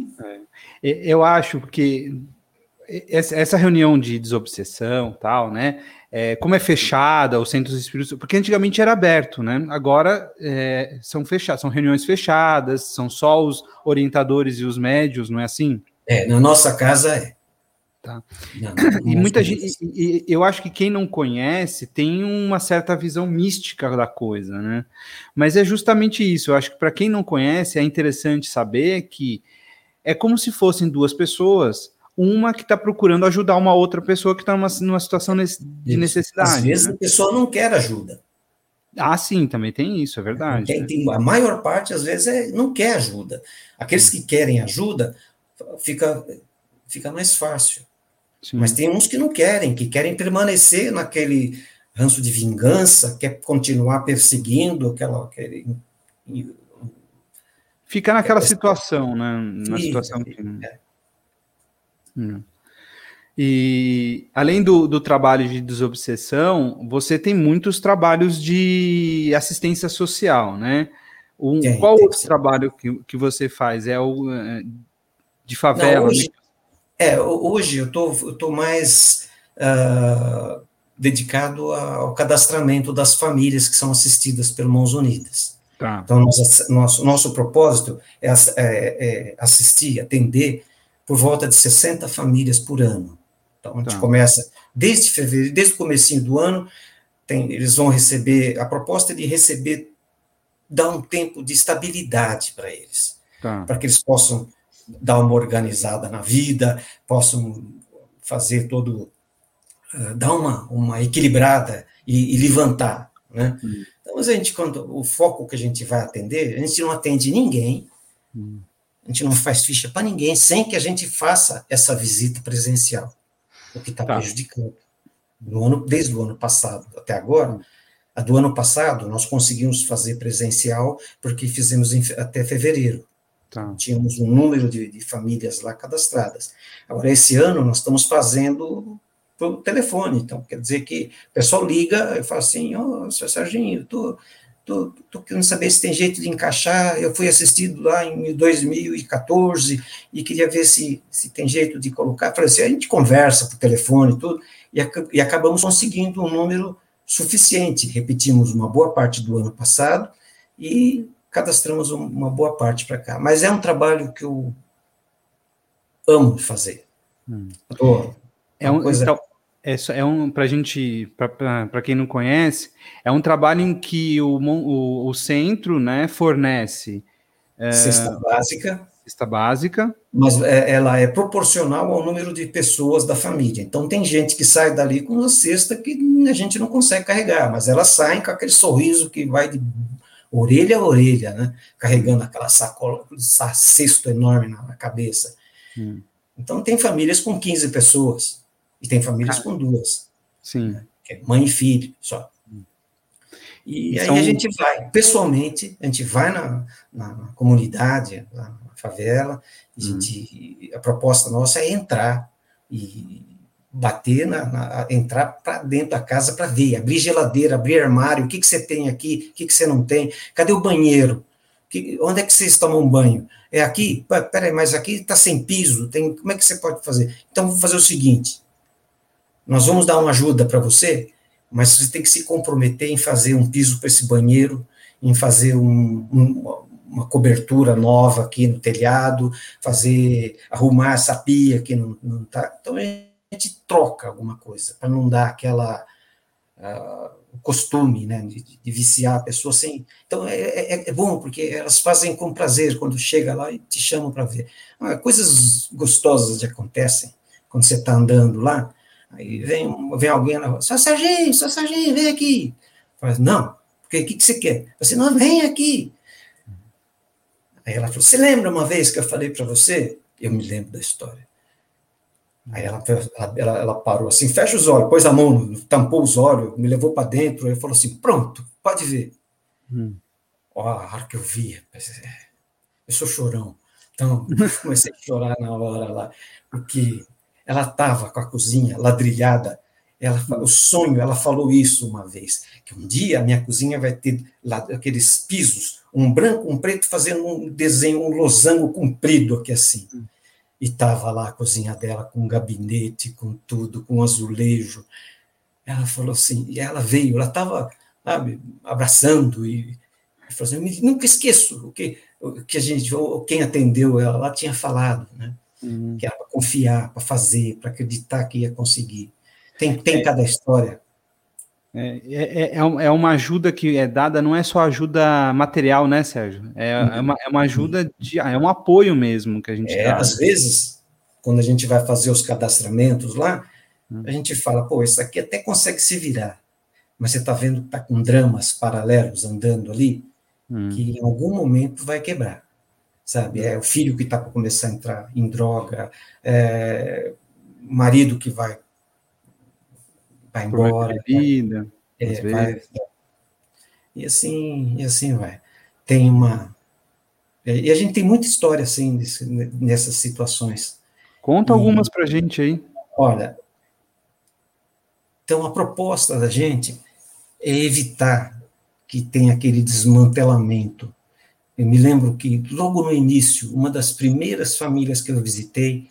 Eu acho que essa reunião de desobsessão, tal, né? Como é fechada, os centros espíritas, porque antigamente era aberto, né? Agora são fechados, são reuniões fechadas, são só os orientadores e os médios, não é assim? Na nossa casa é. Tá. E muita gente, eu acho que quem não conhece tem uma certa visão mística da coisa, né? Mas é justamente isso. Eu acho que para quem não conhece é interessante saber que é como se fossem duas pessoas, uma que está procurando ajudar uma outra pessoa que está numa situação de necessidade. Às vezes, né? A pessoa não quer ajuda. Sim, também tem isso, é verdade. A maior parte, às vezes, não quer ajuda. Aqueles que querem ajuda, fica mais fácil. Sim. Mas tem uns que não querem, que querem permanecer naquele ranço de vingança, quer continuar perseguindo aquele fica naquela situação, né? Na situação que... E além do trabalho de desobsessão, você tem muitos trabalhos de assistência social, né? Qual outro trabalho que você faz? É o de favela? Não, hoje eu tô mais dedicado ao cadastramento das famílias que são assistidas pelo Mãos Unidas. Tá. Então, nosso propósito é assistir, atender por volta de 60 famílias por ano. Então, a gente começa desde fevereiro, desde o comecinho do ano, eles vão receber, a proposta é de receber, dar um tempo de estabilidade para eles, para que eles possam dar uma organizada na vida, possam fazer dar uma equilibrada e levantar, né? Então, quando o foco que a gente vai atender, a gente não atende ninguém, a gente não faz ficha para ninguém, sem que a gente faça essa visita presencial, o que está prejudicando. Desde o ano passado até agora, a do ano passado, nós conseguimos fazer presencial, porque fizemos até fevereiro. Tínhamos um número de famílias lá cadastradas. Agora, esse ano, nós estamos fazendo pelo telefone, então, quer dizer que o pessoal liga e fala assim, seu Serginho, estou querendo saber se tem jeito de encaixar, eu fui assistido lá em 2014 e queria ver se tem jeito de colocar. Falei assim, a gente conversa por telefone e tudo, e acabamos conseguindo um número suficiente. Repetimos uma boa parte do ano passado e cadastramos uma boa parte para cá. Mas é um trabalho que eu amo fazer. Adoro. Então, para gente, para quem não conhece, é um trabalho em que o centro, né, fornece cesta básica, mas ela é proporcional ao número de pessoas da família. Então, tem gente que sai dali com uma cesta que a gente não consegue carregar, mas elas saem com aquele sorriso que vai de orelha a orelha, né, carregando aquela sacola, cesto enorme na cabeça. Então, tem famílias com 15 pessoas, e tem famílias com 2. Sim. Né, que é mãe e filho, só. E aí a gente vai, pessoalmente, a gente vai na comunidade, na favela, a proposta nossa é entrar e bater, entrar para dentro da casa para ver, abrir geladeira, abrir armário, o que você tem aqui, o que você não tem, cadê o banheiro? Onde é que vocês tomam banho? É aqui? Peraí, mas aqui está sem piso, como é que você pode fazer? Então, vou fazer o seguinte, nós vamos dar uma ajuda para você, mas você tem que se comprometer em fazer um piso para esse banheiro, em fazer uma cobertura nova aqui no telhado, arrumar essa pia que não está. Então, a gente troca alguma coisa, para não dar aquela costume, né, de viciar a pessoa sem. Então, é bom, porque elas fazem com prazer quando chega lá e te chamam para ver. Coisas gostosas acontecem quando você está andando lá, aí vem alguém na rua, Só Sarginho, vem aqui. Fala, não, porque o que você quer? Você não, vem aqui. Aí ela falou, você lembra uma vez que eu falei para você? Eu me lembro da história. Aí ela parou assim, fecha os olhos, pôs a mão, tampou os olhos, me levou para dentro, e falou assim, pronto, pode ver. A hora que eu vi, eu sou chorão, então comecei a chorar na hora lá, porque ela estava com a cozinha ladrilhada, o sonho, ela falou isso uma vez, que um dia a minha cozinha vai ter lá aqueles pisos, um branco, um preto, fazendo um desenho, um losango comprido aqui assim. E estava lá a cozinha dela com um gabinete, com tudo, com um azulejo. Ela falou assim, e ela veio, ela estava, abraçando, e falou assim, nunca esqueço o que a gente, quem atendeu ela tinha falado, né? Que era para confiar, para fazer, para acreditar que ia conseguir. Tem cada história. É uma ajuda que é dada, não é só ajuda material, né, Sérgio? É uma ajuda, é um apoio mesmo que a gente dá. Às vezes, quando a gente vai fazer os cadastramentos lá, a gente fala, pô, isso aqui até consegue se virar, mas você está vendo que está com dramas paralelos andando ali, que em algum momento vai quebrar, sabe? É o filho que está para começar a entrar em droga, o marido que vai embora. Vida, e assim vai. Tem e a gente tem muita história assim nessas situações. Conta algumas para a gente aí. Olha, então a proposta da gente é evitar que tenha aquele desmantelamento. Eu me lembro que logo no início, uma das primeiras famílias que eu visitei,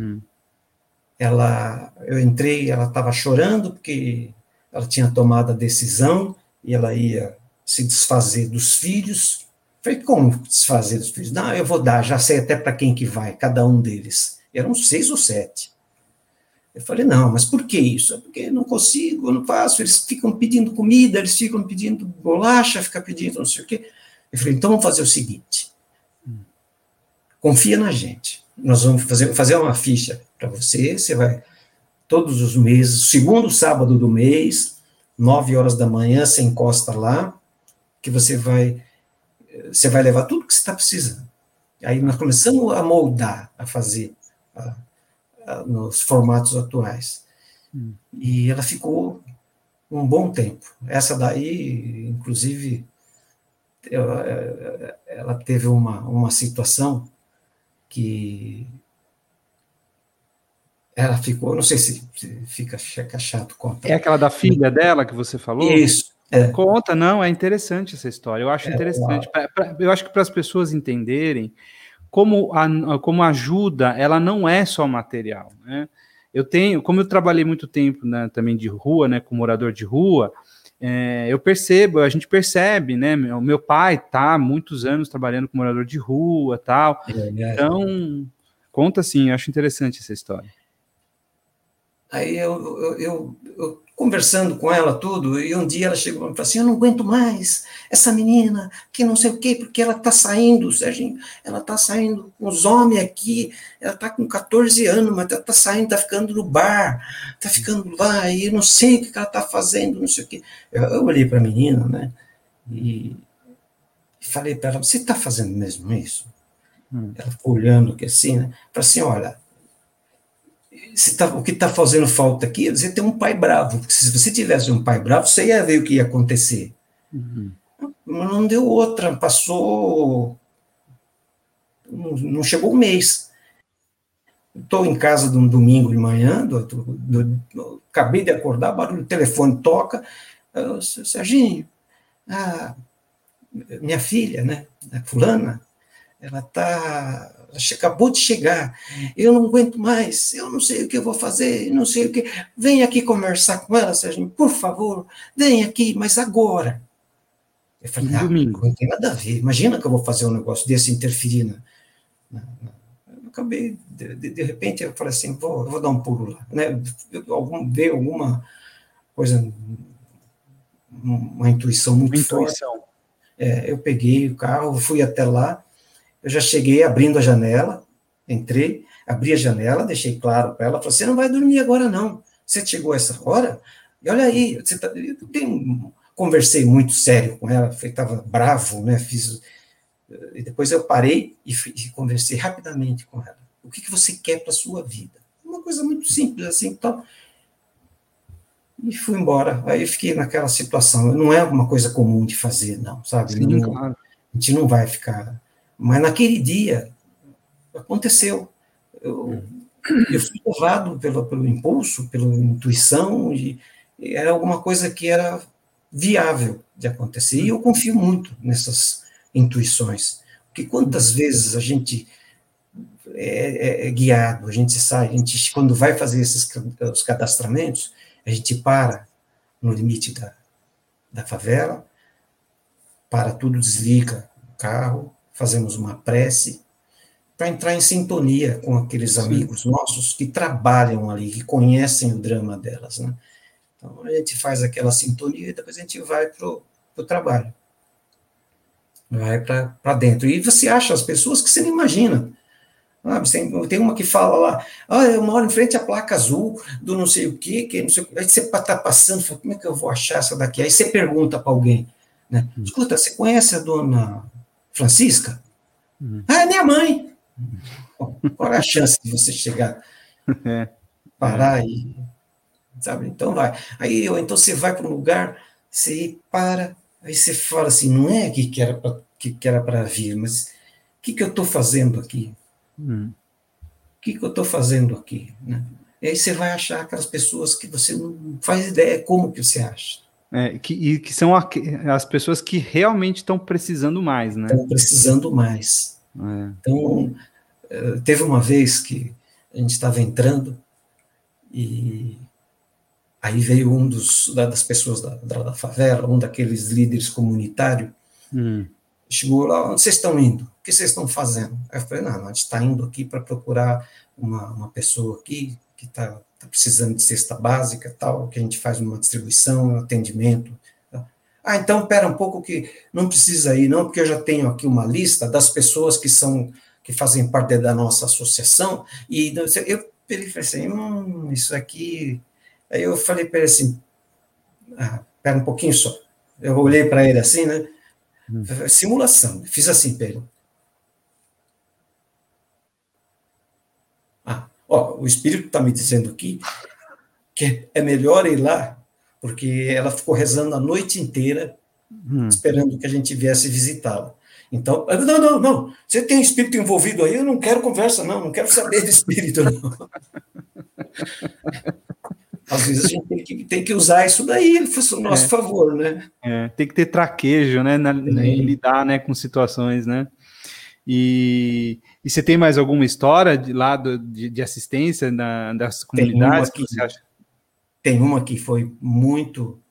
eu entrei, ela estava chorando porque ela tinha tomado a decisão e ela ia se desfazer dos filhos. Falei, como desfazer dos filhos? Não, eu vou dar, já sei até para quem que vai, cada um deles. Eram 6 ou 7. Eu falei, não, mas por que isso? É porque não consigo, eu não faço, eles ficam pedindo comida, eles ficam pedindo bolacha, ficam pedindo não sei o quê. Eu falei, então vamos fazer o seguinte, confia na gente, nós vamos fazer uma ficha para você vai, todos os meses, segundo sábado do mês, 9 horas da manhã, você encosta lá, que você vai levar tudo que você está precisando. Aí nós começamos a moldar, a fazer nos formatos atuais. E ela ficou um bom tempo. Essa daí, inclusive, ela teve uma situação que ela ficou, não sei se fica chato contar. É aquela da filha dela que você falou? Isso. Conta, não, é interessante essa história. Eu acho interessante. Eu acho que para as pessoas entenderem como a ajuda, ela não é só material, né? Como eu trabalhei muito tempo, né, também de rua, né, com morador de rua, a gente percebe, né, o meu pai está há muitos anos trabalhando com morador de rua, tal, então, conta assim, eu acho interessante essa história. Aí eu conversando com ela tudo, e um dia ela chegou e falou assim, eu não aguento mais essa menina, que não sei o quê, porque ela está saindo, Serginho, ela está saindo com os homens aqui, ela está com 14 anos, mas está saindo, está ficando no bar, está ficando lá, e eu não sei o que ela está fazendo, não sei o quê. Eu olhei para a menina, né, e falei para ela, você está fazendo mesmo isso? Ela ficou olhando aqui assim, né, falei assim, olha, o que está fazendo falta aqui é você ter um pai bravo, porque se você tivesse um pai bravo, você ia ver o que ia acontecer. Mas não deu outra, passou não chegou um mês. Estou em casa de um domingo de manhã, acabei de acordar, barulho do telefone toca, Serginho, minha filha, né, a fulana, ela acabou de chegar, eu não aguento mais, eu não sei o que eu vou fazer, não sei o que, vem aqui conversar com ela, Serginho, por favor, vem aqui, mas agora. Eu falei, domingo. Não tem nada a ver, imagina que eu vou fazer um negócio desse interferir eu acabei, de repente, eu falei assim, eu vou dar um pulo lá, né, veio alguma coisa, uma intuição muito forte, eu peguei o carro, fui até lá, eu já cheguei abrindo a janela, entrei, abri a janela, deixei claro para ela, falei, você não vai dormir agora não, você chegou a essa hora, e olha aí, conversei muito sério com ela, estava bravo, né, e depois eu parei e conversei rapidamente com ela, o que você quer para a sua vida? Uma coisa muito simples assim, então, e fui embora, aí eu fiquei naquela situação, não é uma coisa comum de fazer, não, sabe? Sim, não, claro. A gente não vai ficar, mas naquele dia, aconteceu, eu fui levado pelo impulso, pela intuição, e era alguma coisa que era viável de acontecer, e eu confio muito nessas intuições, porque quantas vezes a gente é guiado, a gente quando vai fazer os cadastramentos, a gente para no limite da favela, para tudo, desliga o carro, fazemos uma prece, para entrar em sintonia com aqueles amigos nossos que trabalham ali, que conhecem o drama delas, né? Então, a gente faz aquela sintonia e depois a gente vai para o trabalho. Vai para dentro. E você acha as pessoas que você não imagina. Tem uma que fala lá, eu moro em frente à placa azul do não sei o quê, que não sei o quê. Aí você está passando, fala, como é que eu vou achar essa daqui? Aí você pergunta para alguém, né? Escuta, você conhece a dona Francisca? É minha mãe. Bom, qual é a chance de você chegar, parar e, sabe? Então vai. Então você vai para um lugar, você para, aí você fala assim, não é aqui que era para vir, mas o que eu estou fazendo aqui? O que eu estou fazendo aqui? Né? E aí você vai achar aquelas pessoas que você não faz ideia como que você acha. Que são as pessoas que realmente estão precisando mais, né? Estão precisando mais. Então, teve uma vez que a gente estava entrando e aí veio das pessoas da favela, um daqueles líderes comunitários, chegou lá, onde vocês estão indo? O que vocês estão fazendo? Aí eu falei, não, a gente está indo aqui para procurar uma pessoa aqui que está precisando de cesta básica, tal, que a gente faz uma distribuição, um atendimento. Então, espera um pouco que não precisa ir, não, porque eu já tenho aqui uma lista das pessoas que fazem parte da nossa associação, e ele falou assim, isso aqui... Aí eu falei para ele assim, espera um pouquinho só. Eu olhei para ele assim, né? Simulação, fiz assim para ele. O espírito está me dizendo aqui que é melhor ir lá, porque ela ficou rezando a noite inteira, esperando que a gente viesse visitá-la. Então, não, você tem espírito envolvido aí, eu não quero conversa, não quero saber de espírito, não. Às vezes a gente tem que usar isso daí, a nosso favor, né? Tem que ter traquejo, né, em lidar, né, com situações, né? E você tem mais alguma história de assistência das comunidades que você acha? Tem uma que foi muito...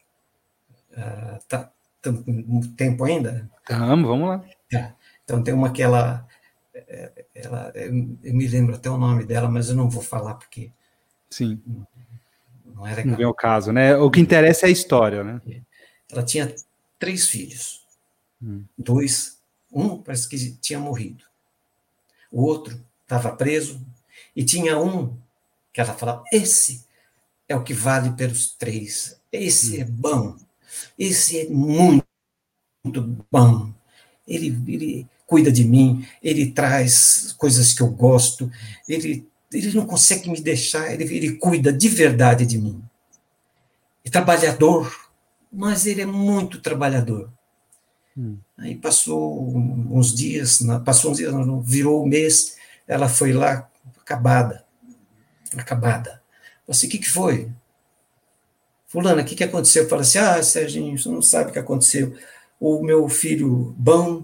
tempo ainda? Vamos lá. Então tem uma que ela eu me lembro até o nome dela, mas eu não vou falar porque... Sim. Não é legal. Não vem o caso, né? O que interessa é a história, né? Ela tinha 3 filhos. 2, um parece que tinha morrido. O outro estava preso. E tinha um que ela falava, esse é o que vale pelos 3. Esse é bom. Esse é muito bom. Ele cuida de mim, ele traz coisas que eu gosto, ele não consegue me deixar, ele cuida de verdade de mim. É trabalhador, mas ele é muito trabalhador. Aí passou uns dias, não, virou o mês, ela foi lá, acabada. Eu assim, o que foi? Fulana, o que aconteceu? Eu falei assim, Serginho, você não sabe o que aconteceu. O meu filho bom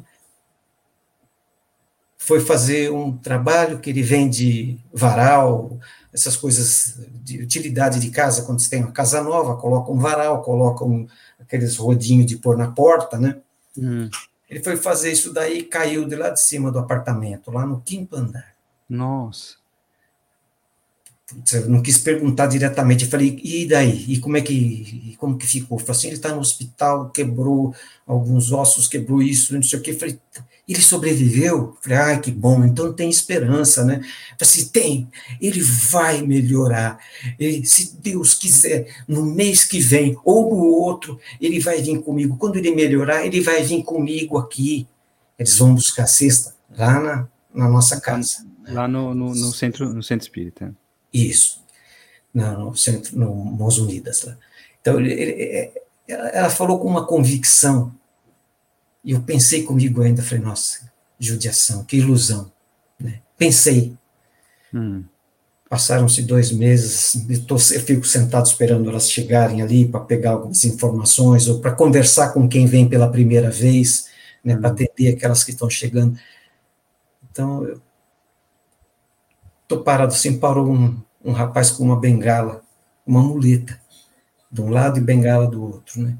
foi fazer um trabalho que ele vende varal, essas coisas de utilidade de casa, quando você tem uma casa nova, coloca um varal, aqueles rodinhos de pôr na porta, né? Ele foi fazer isso daí e caiu de lá de cima do apartamento, lá no quinto andar. Nossa. Eu não quis perguntar diretamente, eu falei, e daí? E como que ficou? Eu falei assim, ele está no hospital, quebrou alguns ossos, quebrou isso, não sei o quê. Eu falei, ele sobreviveu? Eu falei, ai, que bom, então tem esperança, né? Eu falei assim, tem, ele vai melhorar. Se Deus quiser, no mês que vem, ou no outro, ele vai vir comigo. Quando ele melhorar, ele vai vir comigo aqui. Eles vão buscar cesta lá na nossa casa. Lá no centro espírita. Isso. No centro, no Mãos Unidas lá. Então, ela falou com uma convicção, e eu pensei comigo ainda, falei, nossa, judiação, que ilusão. Né? Pensei. Passaram-se 2 meses, eu fico sentado esperando elas chegarem ali para pegar algumas informações, ou para conversar com quem vem pela primeira vez, né, para atender aquelas que estão chegando. Então, eu estou parado assim, parou um rapaz com uma bengala, uma muleta, de um lado e bengala do outro, né?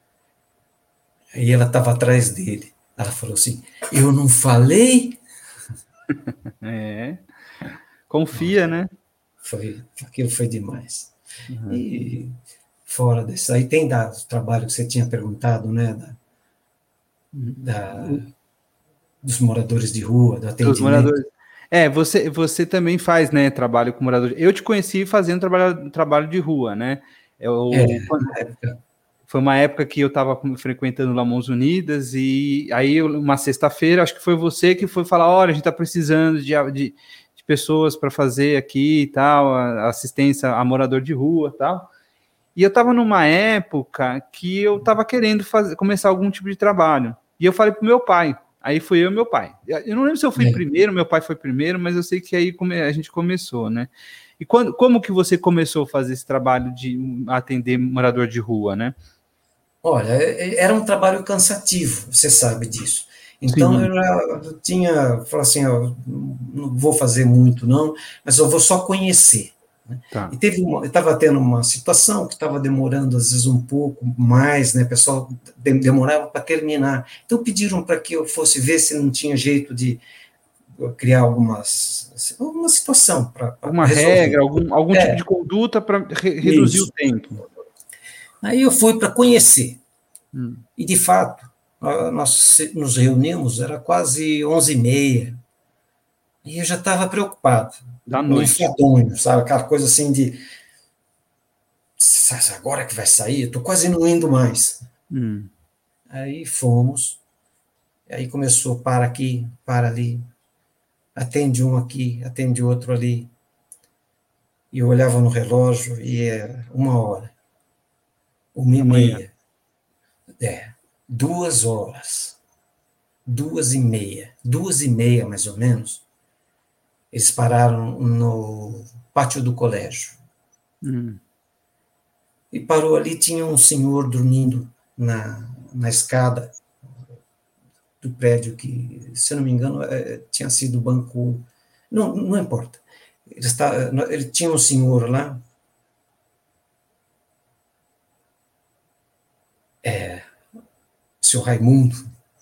Aí ela estava atrás dele. Ela falou assim, eu não falei? Confia, né? Aquilo foi demais. E fora disso, aí tem o trabalho que você tinha perguntado, né? Dos moradores de rua, do Dos atendimento. moradores. Você também faz, né, trabalho com moradores. Eu te conheci fazendo trabalho de rua, né? Na época. Foi uma época que eu estava frequentando lá Mãos Unidas e aí uma sexta-feira, acho que foi você que foi falar, olha, a gente está precisando de pessoas para fazer aqui e tal, assistência a morador de rua e tal. E eu estava numa época que eu estava querendo começar algum tipo de trabalho. E eu falei pro meu pai. Aí fui eu e meu pai. Eu não lembro se eu fui primeiro, meu pai foi primeiro, mas eu sei que aí a gente começou, né? E como que você começou a fazer esse trabalho de atender morador de rua, né? Olha, era um trabalho cansativo, você sabe disso. Então, Sim. eu tinha, falei assim, ó, não vou fazer muito não, mas eu vou só conhecer. Né? Tá. E estava tendo uma situação que estava demorando, às vezes, um pouco mais, né? O pessoal demorava para terminar. Então, pediram para que eu fosse ver se não tinha jeito de criar alguma situação para Alguma resolver. regra, algum tipo de conduta para reduzir o Isso. tempo. Aí eu fui para conhecer. E, de fato, nós nos reunimos, era quase 11h30, e eu já estava preocupado, Da no noite. enfadonho, sabe, aquela coisa assim de, agora que vai sair, eu estou quase não indo mais. Aí fomos, aí começou, para aqui, para ali, atende um aqui, atende outro ali, e eu olhava no relógio, e era 1h, uma e Da manhã. meia, 2 horas, 2h30, 2h30 mais ou menos. Eles pararam no pátio do colégio. E parou ali, tinha um senhor dormindo na escada do prédio, que, se eu não me engano, tinha sido o banco. Não importa. Ele tinha um senhor lá, o senhor Raimundo.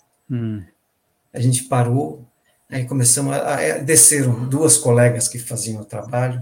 A gente parou, aí começamos desceram 2 colegas que faziam o trabalho.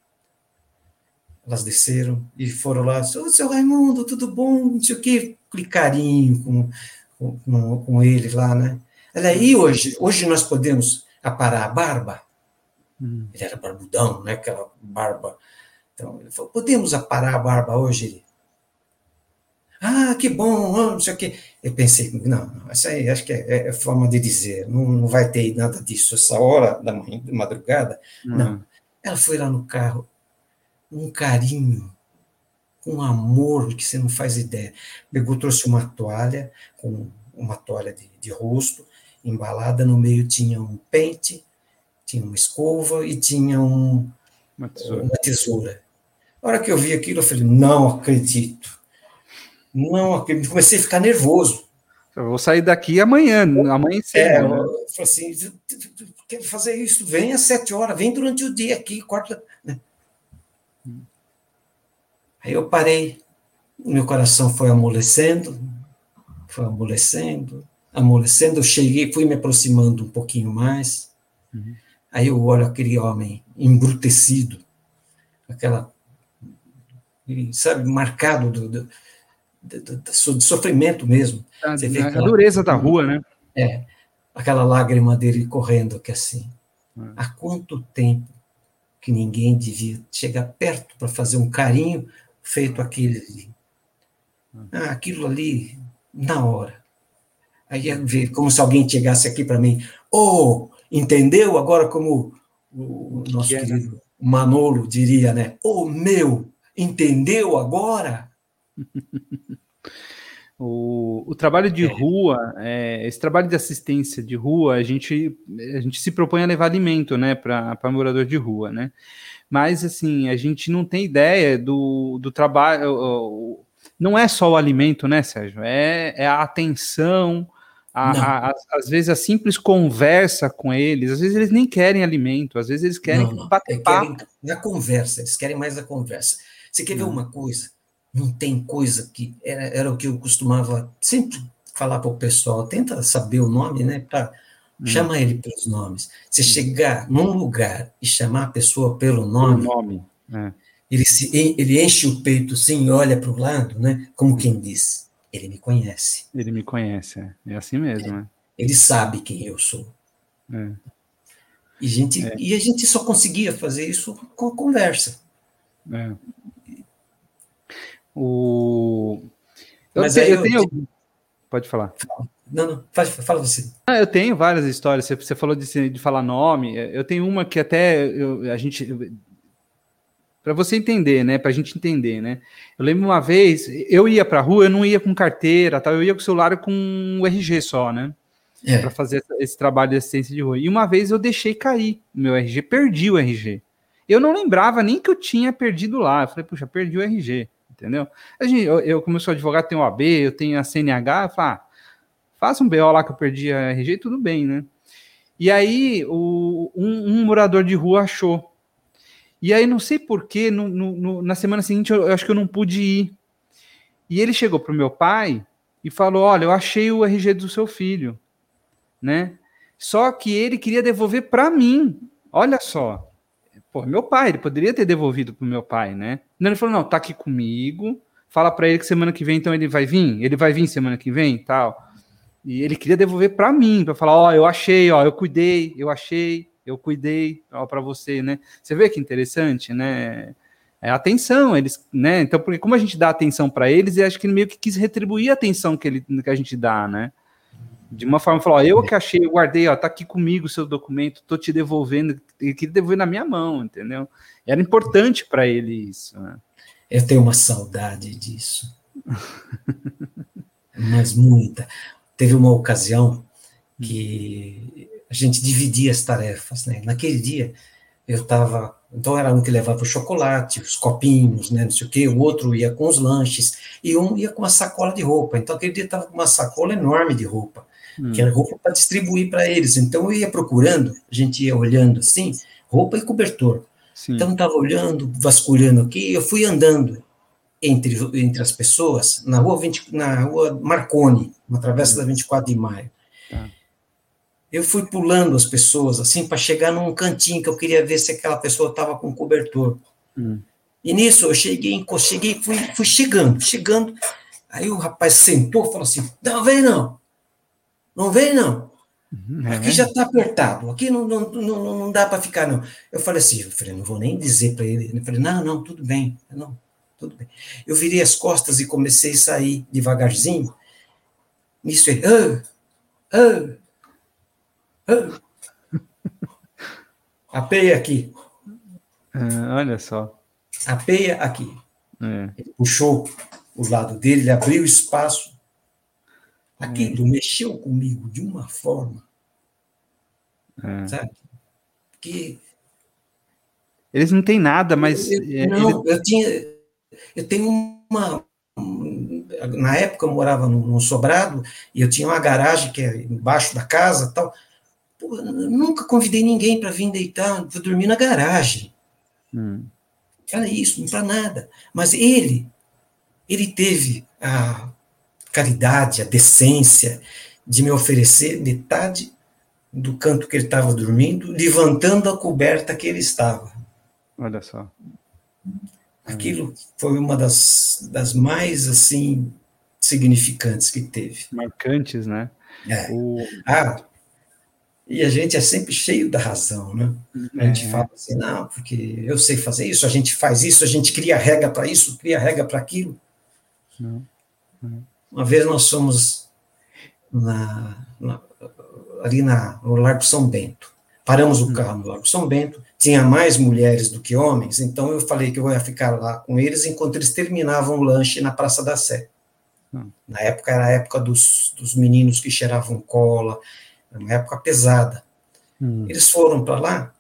Elas desceram e foram lá, seu Raimundo, tudo bom? Não sei o quê, aquele carinho com ele lá, né? E hoje nós podemos aparar a barba? Ele era barbudão, né? Aquela barba. Então, ele falou, podemos aparar a barba hoje? Ele, que bom, não sei o quê. Eu pensei, não, isso aí acho que é forma de dizer, não vai ter nada disso, essa hora da manhã, de madrugada. Não. Ela foi lá no carro, um carinho, com amor que você não faz ideia. Pegou, trouxe uma toalha com uma toalha de rosto, embalada, no meio tinha um pente, tinha uma escova e tinha Uma tesoura. uma tesoura. A hora que eu vi aquilo, eu falei, não acredito. Não acredito. Comecei a ficar nervoso. Eu vou sair daqui amanhã, amanhecendo, né? Eu falei assim, quero fazer isso, vem às 7 horas, vem durante o dia aqui, corta. Né? Aí eu parei, meu coração foi amolecendo, amolecendo, eu cheguei, fui me aproximando um pouquinho mais, aí eu olho aquele homem embrutecido, aquela, sabe, marcado de sofrimento mesmo. Você vê A dureza da rua, né? Aquela lágrima dele correndo aqui assim. Há quanto tempo que ninguém devia chegar perto para fazer um carinho feito aquele ali. Aquilo ali, na hora. Aí ia ver como se alguém chegasse aqui para mim, entendeu? Agora como o nosso querido Manolo diria, né? Meu, entendeu agora? O trabalho de rua, esse trabalho de assistência de rua, a gente se propõe a levar alimento, né, para morador de rua, né? Mas, assim, a gente não tem ideia do trabalho. Não é só o alimento, né, Sérgio? É a atenção, às vezes a simples conversa com eles. Às vezes eles nem querem alimento, às vezes eles querem bater papo. Querem a conversa, eles querem mais a conversa. Você quer ver uma coisa? Não tem coisa que... Era o que eu costumava sempre falar para o pessoal. Tenta saber o nome, né? Chama ele pelos nomes. Se chegar num lugar e chamar a pessoa pelo nome. Ele enche o peito assim e olha para o lado, né? Como quem diz, ele me conhece. Ele me conhece, é assim mesmo. Ele sabe quem eu sou. E a gente só conseguia fazer isso com a conversa. Pode falar. Não, fala você. Eu tenho várias histórias. Você falou de falar nome. Eu tenho uma que até a gente... Para você entender, né? Para a gente entender, né? Eu lembro uma vez, eu ia para a rua, eu não ia com carteira, tal, eu ia com o celular com o RG só, né? Para fazer esse trabalho de assistência de rua. E uma vez eu deixei cair o meu RG, perdi o RG. Eu não lembrava nem que eu tinha perdido lá. Eu falei, puxa, perdi o RG, entendeu? Eu como eu sou advogado, tenho OAB, eu tenho a CNH, eu falei, faça um BO lá que eu perdi a RG, tudo bem, né? E aí, um morador de rua achou. E aí, não sei porquê, na semana seguinte, eu acho que eu não pude ir. E ele chegou pro meu pai e falou, olha, eu achei o RG do seu filho, né? Só que ele queria devolver para mim. Olha só. Pô, meu pai, ele poderia ter devolvido pro meu pai, né? Não, ele falou, não, tá aqui comigo, fala para ele que semana que vem, então ele vai vir semana que vem, tal. E ele queria devolver para mim, para falar, eu achei, eu cuidei, eu cuidei, para você, né? Você vê que interessante, né? É atenção, eles, né? Então, porque como a gente dá atenção para eles, eu acho que ele meio que quis retribuir a atenção que a gente dá, né? De uma forma, falou, eu que achei, eu guardei, tá aqui comigo o seu documento, tô te devolvendo, ele queria devolver na minha mão, entendeu? Era importante para ele isso, né? Eu tenho uma saudade disso. Mas muita. Teve uma ocasião que a gente dividia as tarefas, né? Naquele dia, eu estava... Então, era um que levava o chocolate, os copinhos, né? Não sei o quê, o outro ia com os lanches, e um ia com uma sacola de roupa. Então, aquele dia estava com uma sacola enorme de roupa, que era roupa para distribuir para eles. Então, eu ia procurando, a gente ia olhando assim, roupa e cobertor. Sim. Então, estava olhando, vasculhando aqui, eu fui andando entre as pessoas, na rua Marconi, na travessa da 24 de maio. Eu fui pulando as pessoas, assim, para chegar num cantinho que eu queria ver se aquela pessoa estava com cobertor. E nisso, eu fui chegando, aí o rapaz sentou e falou assim, não vem não, aqui já está apertado, aqui não dá para ficar, não. Eu falei, não vou nem dizer para ele. Eu falei, não, tudo bem, tudo bem. Eu virei as costas e comecei a sair devagarzinho. Nisso ele, a peia aqui. Olha só. A peia aqui. Ele puxou o lado dele, ele abriu espaço. Aquilo mexeu comigo de uma forma, sabe? Que eles não têm nada, mas não, eu tenho uma. Na época eu morava num sobrado e eu tinha uma garagem que é embaixo da casa, tal. Pô, eu nunca convidei ninguém para vir deitar, vou dormir na garagem. Era isso, não para nada. Mas ele teve a caridade, a decência de me oferecer metade do canto que ele estava dormindo, levantando a coberta que ele estava. Olha só. Aquilo foi uma das mais, assim, significantes que teve. Marcantes, né? E a gente é sempre cheio da razão, né? A gente fala assim, não, porque eu sei fazer isso, a gente faz isso, a gente cria regra para isso, cria regra para aquilo. Uma vez nós fomos ali no Largo São Bento. Paramos o carro no Largo São Bento, tinha mais mulheres do que homens, então eu falei que eu ia ficar lá com eles enquanto eles terminavam o lanche na Praça da Sé. Na época era a época dos meninos que cheiravam cola, era uma época pesada. Eles foram para lá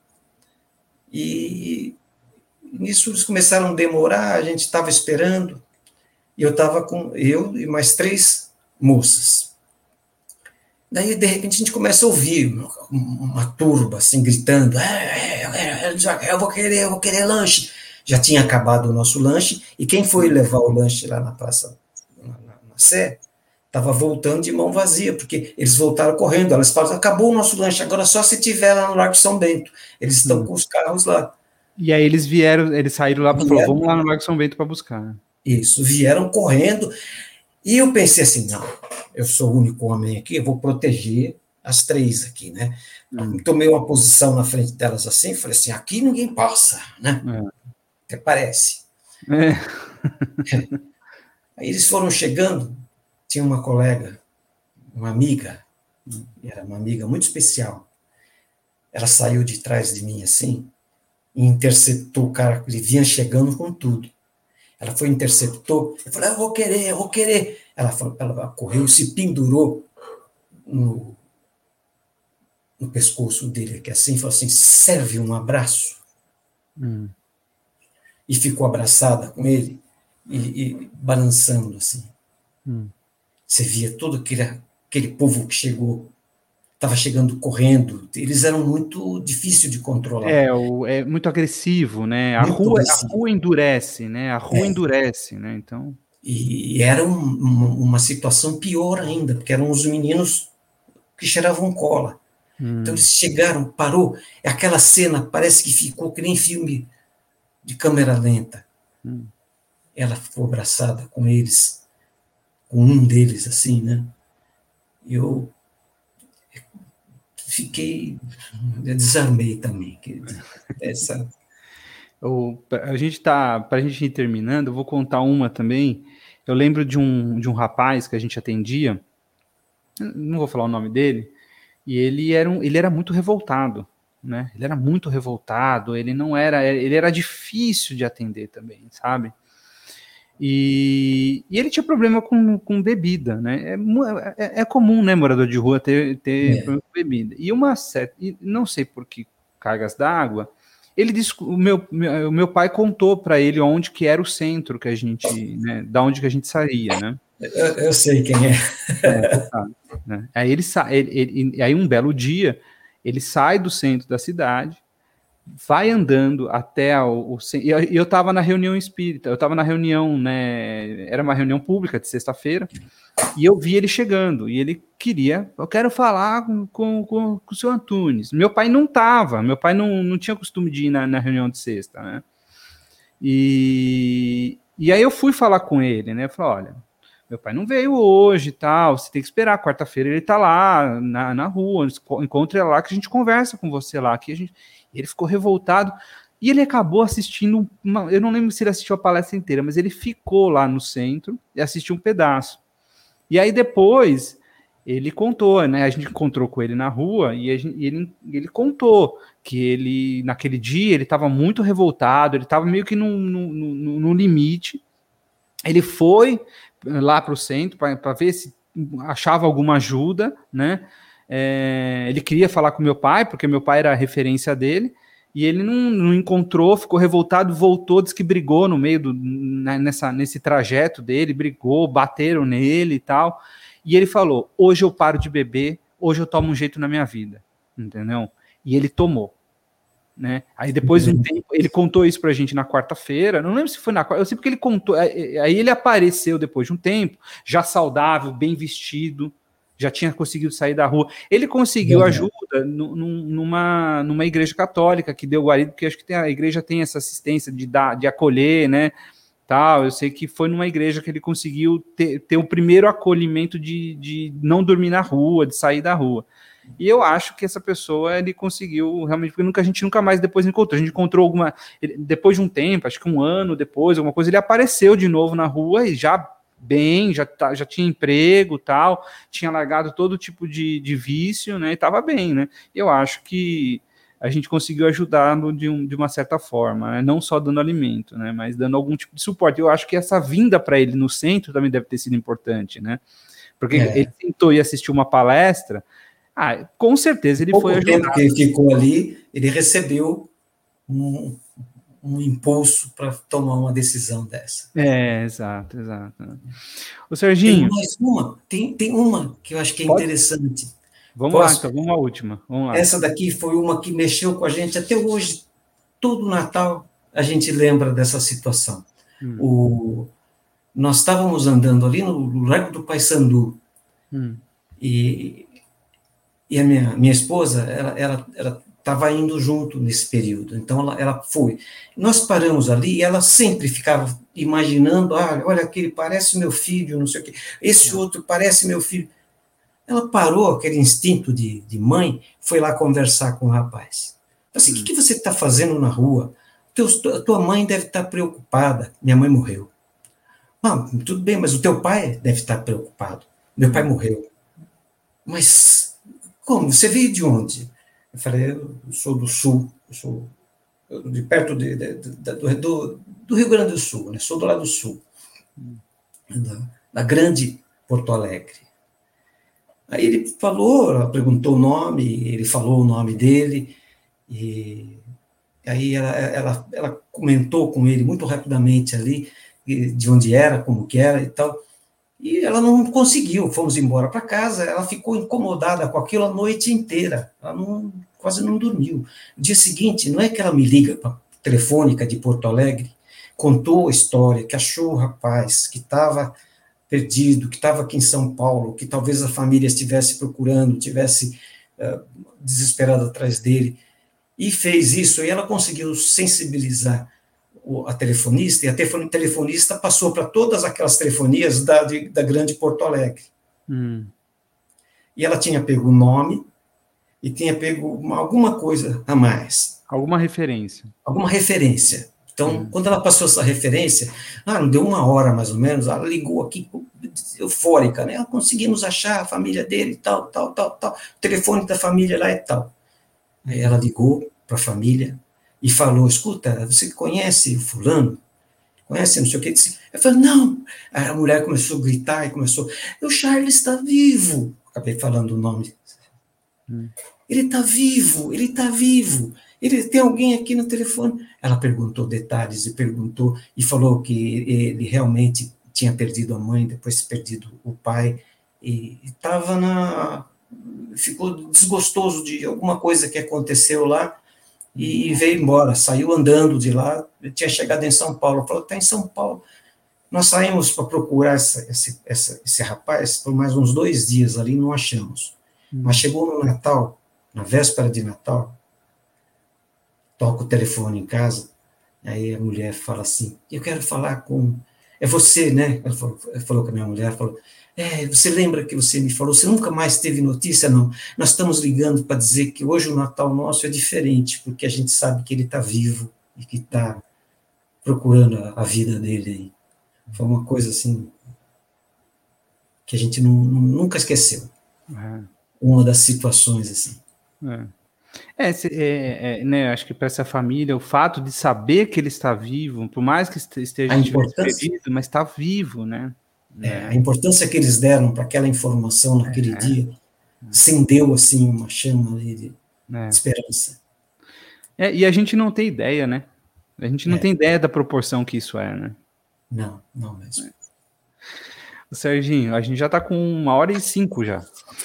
e nisso eles começaram a demorar, a gente estava esperando, e eu estava com eu e mais 3 moças. Daí, de repente, a gente começa a ouvir uma turba, assim, gritando, eu vou querer lanche. Já tinha acabado o nosso lanche, e quem foi levar o lanche lá na praça, na Sé, estava voltando de mão vazia, porque eles voltaram correndo, elas falaram, acabou o nosso lanche, agora só se tiver lá no Largo São Bento. Eles estão com os carros lá. E aí eles saíram lá e falaram, vamos lá no Largo São Bento para buscar. Isso, vieram correndo, e eu pensei assim, não, eu sou o único homem aqui, eu vou proteger as 3 aqui, né? Tomei uma posição na frente delas assim, falei assim, aqui ninguém passa, né? Até parece. Aí eles foram chegando, tinha uma colega, uma amiga, era uma amiga muito especial, ela saiu de trás de mim assim, e interceptou o cara, ele vinha chegando com tudo. Ela foi, interceptou, eu falei, eu vou querer. Ela correu, se pendurou no pescoço dele, que assim, falou assim, serve um abraço. E ficou abraçada com ele, e balançando assim. Você via todo aquele povo que chegou, estava chegando correndo, eles eram muito difíceis de controlar. É muito agressivo, né? A rua endurece, né? A rua endurece, né? Então... E era uma situação pior ainda, porque eram os meninos que cheiravam cola. Então eles chegaram, parou, aquela cena parece que ficou que nem filme de câmera lenta. Ela ficou abraçada com eles, com um deles, assim, né? Eu desarmei também. Pra gente ir terminando, eu vou contar uma também. Eu lembro de um rapaz que a gente atendia, não vou falar o nome dele, e ele era muito revoltado, né? Ele era muito revoltado, ele era difícil de atender também, sabe? E ele tinha problema com bebida, né? É comum, né, morador de rua ter problema com bebida. E não sei por que cargas d'água, ele disse, o meu pai contou para ele onde que era o centro que a gente, né, da onde que a gente saía, né? Eu sei quem é. Sabe, né? Aí aí um belo dia ele sai do centro da cidade, vai andando até e eu estava na reunião espírita, eu estava na reunião, né? Era uma reunião pública de sexta-feira. E eu vi ele chegando, e ele eu quero falar com o senhor Antunes. Meu pai não estava, meu pai não tinha costume de ir na reunião de sexta, né? E aí eu fui falar com ele, né? Eu falei, olha, meu pai não veio hoje e tal, você tem que esperar, quarta-feira ele tá lá na rua, encontre ele lá que a gente conversa com você lá. Ele ficou revoltado, e ele acabou assistindo, eu não lembro se ele assistiu a palestra inteira, mas ele ficou lá no centro e assistiu um pedaço. E aí depois ele contou, né? A gente encontrou com ele na rua e ele contou que ele, naquele dia, ele estava muito revoltado, ele estava meio que no limite. Ele foi lá para o centro para ver se achava alguma ajuda, né? Ele queria falar com meu pai, porque meu pai era a referência dele, e ele não encontrou, ficou revoltado, voltou, disse que brigou no meio nesse trajeto dele, brigou, bateram nele e tal, e ele falou, hoje eu paro de beber, hoje eu tomo um jeito na minha vida, entendeu? E ele tomou. Né? Aí depois de um tempo, ele contou isso pra gente na quarta-feira, não lembro se foi na quarta, eu sei porque ele contou, aí ele apareceu depois de um tempo, já saudável, bem vestido, já tinha conseguido sair da rua, ele conseguiu ajuda numa igreja católica que deu guarida, porque acho que a igreja tem essa assistência de acolher, né, tal, eu sei que foi numa igreja que ele conseguiu ter o primeiro acolhimento de não dormir na rua, de sair da rua. E eu acho que essa pessoa, ele conseguiu realmente, porque a gente nunca mais depois encontrou. A gente encontrou depois de um tempo, acho que um ano depois, alguma coisa, ele apareceu de novo na rua e já bem, já tinha emprego tal, tinha largado todo tipo de vício, né? E estava bem, né? Eu acho que a gente conseguiu ajudá-lo de uma certa forma, né? Não só dando alimento, né? Mas dando algum tipo de suporte. Eu acho que essa vinda para ele no centro também deve ter sido importante, né? Porque ele tentou ir assistir uma palestra. Com certeza ele foi ajudado. Pouco tempo que ele ficou ali, ele recebeu um impulso para tomar uma decisão dessa. Exato. O Serginho... Tem uma que eu acho que é interessante. Vamos lá, então, vamos à última. Vamos lá. Essa daqui foi uma que mexeu com a gente até hoje. Todo Natal a gente lembra dessa situação. Nós estávamos andando ali no Largo do Paissandu, e a minha esposa, ela estava indo junto nesse período, então ela foi. Nós paramos ali e ela sempre ficava imaginando, olha, aquele parece meu filho, não sei o quê, esse outro parece meu filho. Ela parou, aquele instinto de mãe, foi lá conversar com o rapaz. Assim, o que você está fazendo na rua? Tua mãe deve estar preocupada, minha mãe morreu. Tudo bem, mas o teu pai deve estar preocupado, meu pai morreu. Mas como? Você veio de onde? Eu falei, eu sou do Sul, eu sou de perto do Rio Grande do Sul, né? Sou do lado do Sul, da grande Porto Alegre. Aí ele falou, ela perguntou o nome, ele falou o nome dele, e aí ela comentou com ele muito rapidamente ali, de onde era, como que era e tal, e ela não conseguiu, fomos embora para casa, ela ficou incomodada com aquilo a noite inteira, ela quase não dormiu. No dia seguinte, não é que ela me liga para a telefônica de Porto Alegre, contou a história, que achou o rapaz, que estava perdido, que estava aqui em São Paulo, que talvez a família estivesse procurando, estivesse desesperada atrás dele, e fez isso, e ela conseguiu sensibilizar a telefonista, e a telefonista passou para todas aquelas telefonias da grande Porto Alegre. E ela tinha pego o nome, e tinha pego alguma coisa a mais. Alguma referência. Alguma referência. Então, quando ela passou essa referência, não deu uma hora mais ou menos, ela ligou aqui, eufórica, né? Conseguimos achar a família dele, tal, o telefone da família lá e tal. Aí ela ligou para a família e falou, escuta, você conhece o fulano? Conhece, não sei o que? Eu falei, não. Aí a mulher começou a gritar e começou, o Charles está vivo. Acabei falando o nome. Ele está vivo, ele está vivo. Ele tem alguém aqui no telefone. Ela perguntou detalhes e falou que ele realmente tinha perdido a mãe, depois perdido o pai, e ficou desgostoso de alguma coisa que aconteceu lá, e veio embora, saiu andando de lá, tinha chegado em São Paulo, falou, está em São Paulo. Nós saímos para procurar esse rapaz por mais uns 2 dias ali, não achamos. Mas chegou no Natal, na véspera de Natal, toca o telefone em casa, aí a mulher fala assim, eu quero falar com... É você, né? Ela falou com a minha mulher, falou, você lembra que você me falou, você nunca mais teve notícia? Não, nós estamos ligando para dizer que hoje o Natal nosso é diferente, porque a gente sabe que ele está vivo e que está procurando a vida dele aí. Foi uma coisa assim, que a gente nunca esqueceu. Uma das situações assim. Né, acho que para essa família, o fato de saber que ele está vivo, por mais que esteja perdido, mas está vivo, né? A importância que eles deram para aquela informação naquele dia acendeu, assim, uma chama ali de esperança. E a gente não tem ideia, né? A gente não tem ideia da proporção que isso é, né? Não mesmo. Serginho, a gente já está com 1h05 já.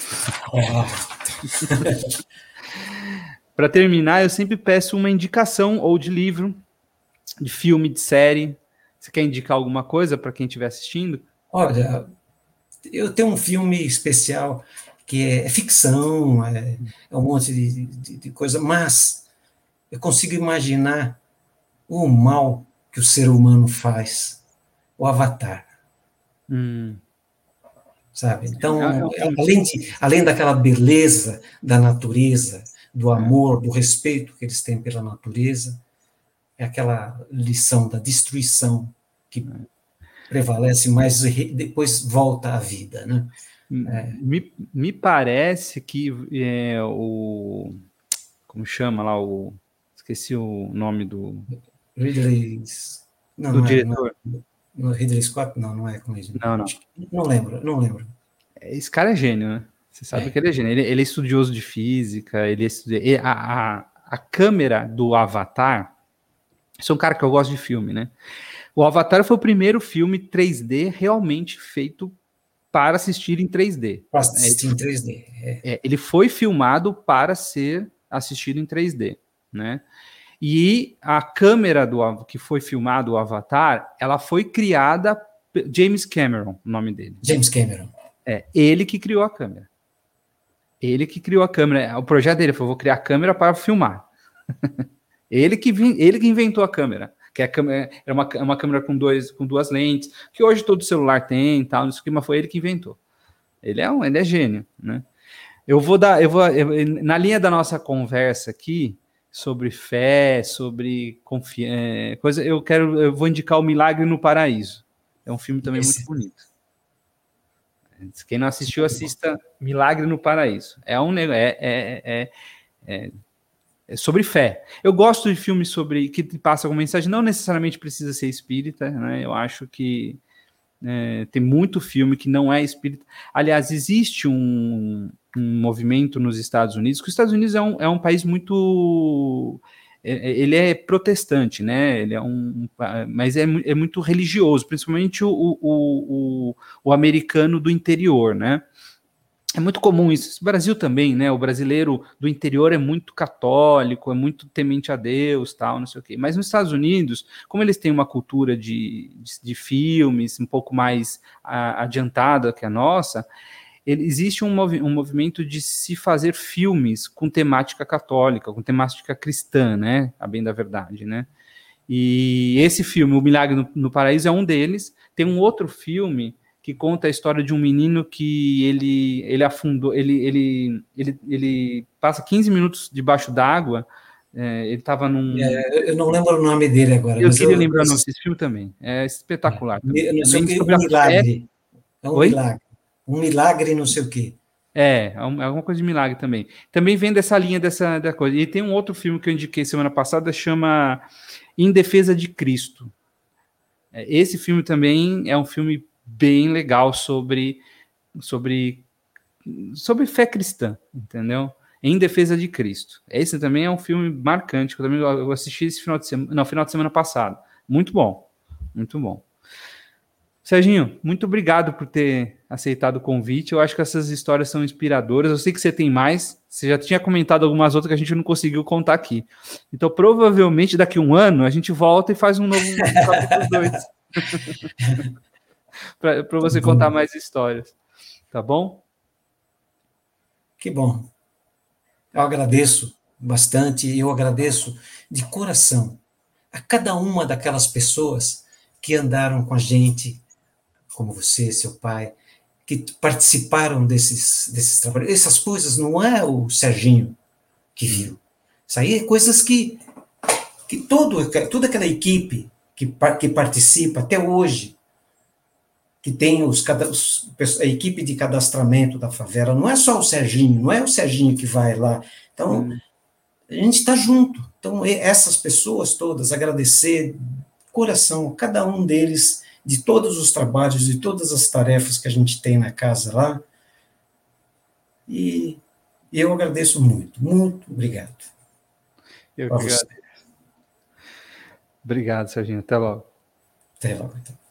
Para terminar, eu sempre peço uma indicação ou de livro, de filme, de série. Você quer indicar alguma coisa para quem estiver assistindo? Olha, eu tenho um filme especial que é ficção, é um monte de coisa, mas eu consigo imaginar o mal que o ser humano faz, o Avatar. Sabe? Então, além daquela beleza da natureza, do amor, do respeito que eles têm pela natureza, é aquela lição da destruição que prevalece, mas depois volta à vida, né? Me parece que como chama lá esqueci o nome do Ridley... diretor. Ridley Scott? Não é com ele. Não. Não lembro. Esse cara é gênio, né? Você sabe que ele é gênio. Ele é estudioso de física, a câmera do Avatar, isso é um cara que eu gosto de filme, né? O Avatar foi o primeiro filme 3D realmente feito para assistir em 3D. Para assistir em 3D. Ele foi filmado para ser assistido em 3D, né? E a câmera que foi filmado o Avatar, ela foi criada James Cameron, o nome dele. James Cameron. Ele que criou a câmera. Ele que criou a câmera. O projeto dele foi: vou criar a câmera para filmar. ele que inventou a câmera. Que era uma câmera com duas lentes, que hoje todo celular tem, tal, isso aqui, mas foi ele que inventou. Ele é gênio, né? Na linha da nossa conversa aqui sobre fé, sobre confiança, eu vou indicar O Milagre no Paraíso. É um filme também muito bonito. Quem não assistiu, assista Milagre no Paraíso. É sobre fé. Eu gosto de filmes que passam uma mensagem, não necessariamente precisa ser espírita, né? Eu acho que tem muito filme que não é espírita. Aliás, existe um movimento nos Estados Unidos, que os Estados Unidos é um país muito... ele é protestante, né? Ele mas é muito religioso, principalmente o americano do interior, né? É muito comum isso. O Brasil também, né? O brasileiro do interior é muito católico, é muito temente a Deus, tal, não sei o quê. Mas nos Estados Unidos, como eles têm uma cultura de filmes um pouco mais adiantada que a nossa, existe um movimento de se fazer filmes com temática católica, com temática cristã, né? A bem da verdade, né? E esse filme, O Milagre no Paraíso, é um deles. Tem um outro filme que conta a história de um menino que ele afundou, ele passa 15 minutos debaixo d'água, ele estava num... eu não lembro o nome dele agora. Eu queria lembrar o nome desse filme também, é espetacular. Não sei o que, um milagre. É um milagre. Um milagre não sei o quê. É alguma coisa de milagre também. Também vem dessa linha da coisa. E tem um outro filme que eu indiquei semana passada, chama Em Defesa de Cristo. Esse filme também é um filme bem legal sobre fé cristã, entendeu? Em Defesa de Cristo. Esse também é um filme marcante, que eu assisti esse final de semana passado. Muito bom, muito bom. Serginho, muito obrigado por ter aceitado o convite. Eu acho que essas histórias são inspiradoras. Eu sei que você tem mais. Você já tinha comentado algumas outras que a gente não conseguiu contar aqui. Então, provavelmente, daqui a um ano, a gente volta e faz um novo capítulo 2. para você contar mais histórias. Tá bom? Que bom. Eu agradeço bastante. Eu agradeço de coração a cada uma daquelas pessoas que andaram com a gente, como você, seu pai, que participaram desses trabalhos. Essas coisas não é o Serginho que viu. Isso aí é coisas que toda aquela equipe que participa até hoje, que tem a equipe de cadastramento da favela, não é só o Serginho, não é o Serginho que vai lá. Então, a gente está junto. Então, essas pessoas todas, agradecer de coração, cada um deles de todos os trabalhos, de todas as tarefas que a gente tem na casa lá. E eu agradeço muito, muito obrigado. Eu que agradeço. Obrigado, Serginho. Até logo. Até logo, então.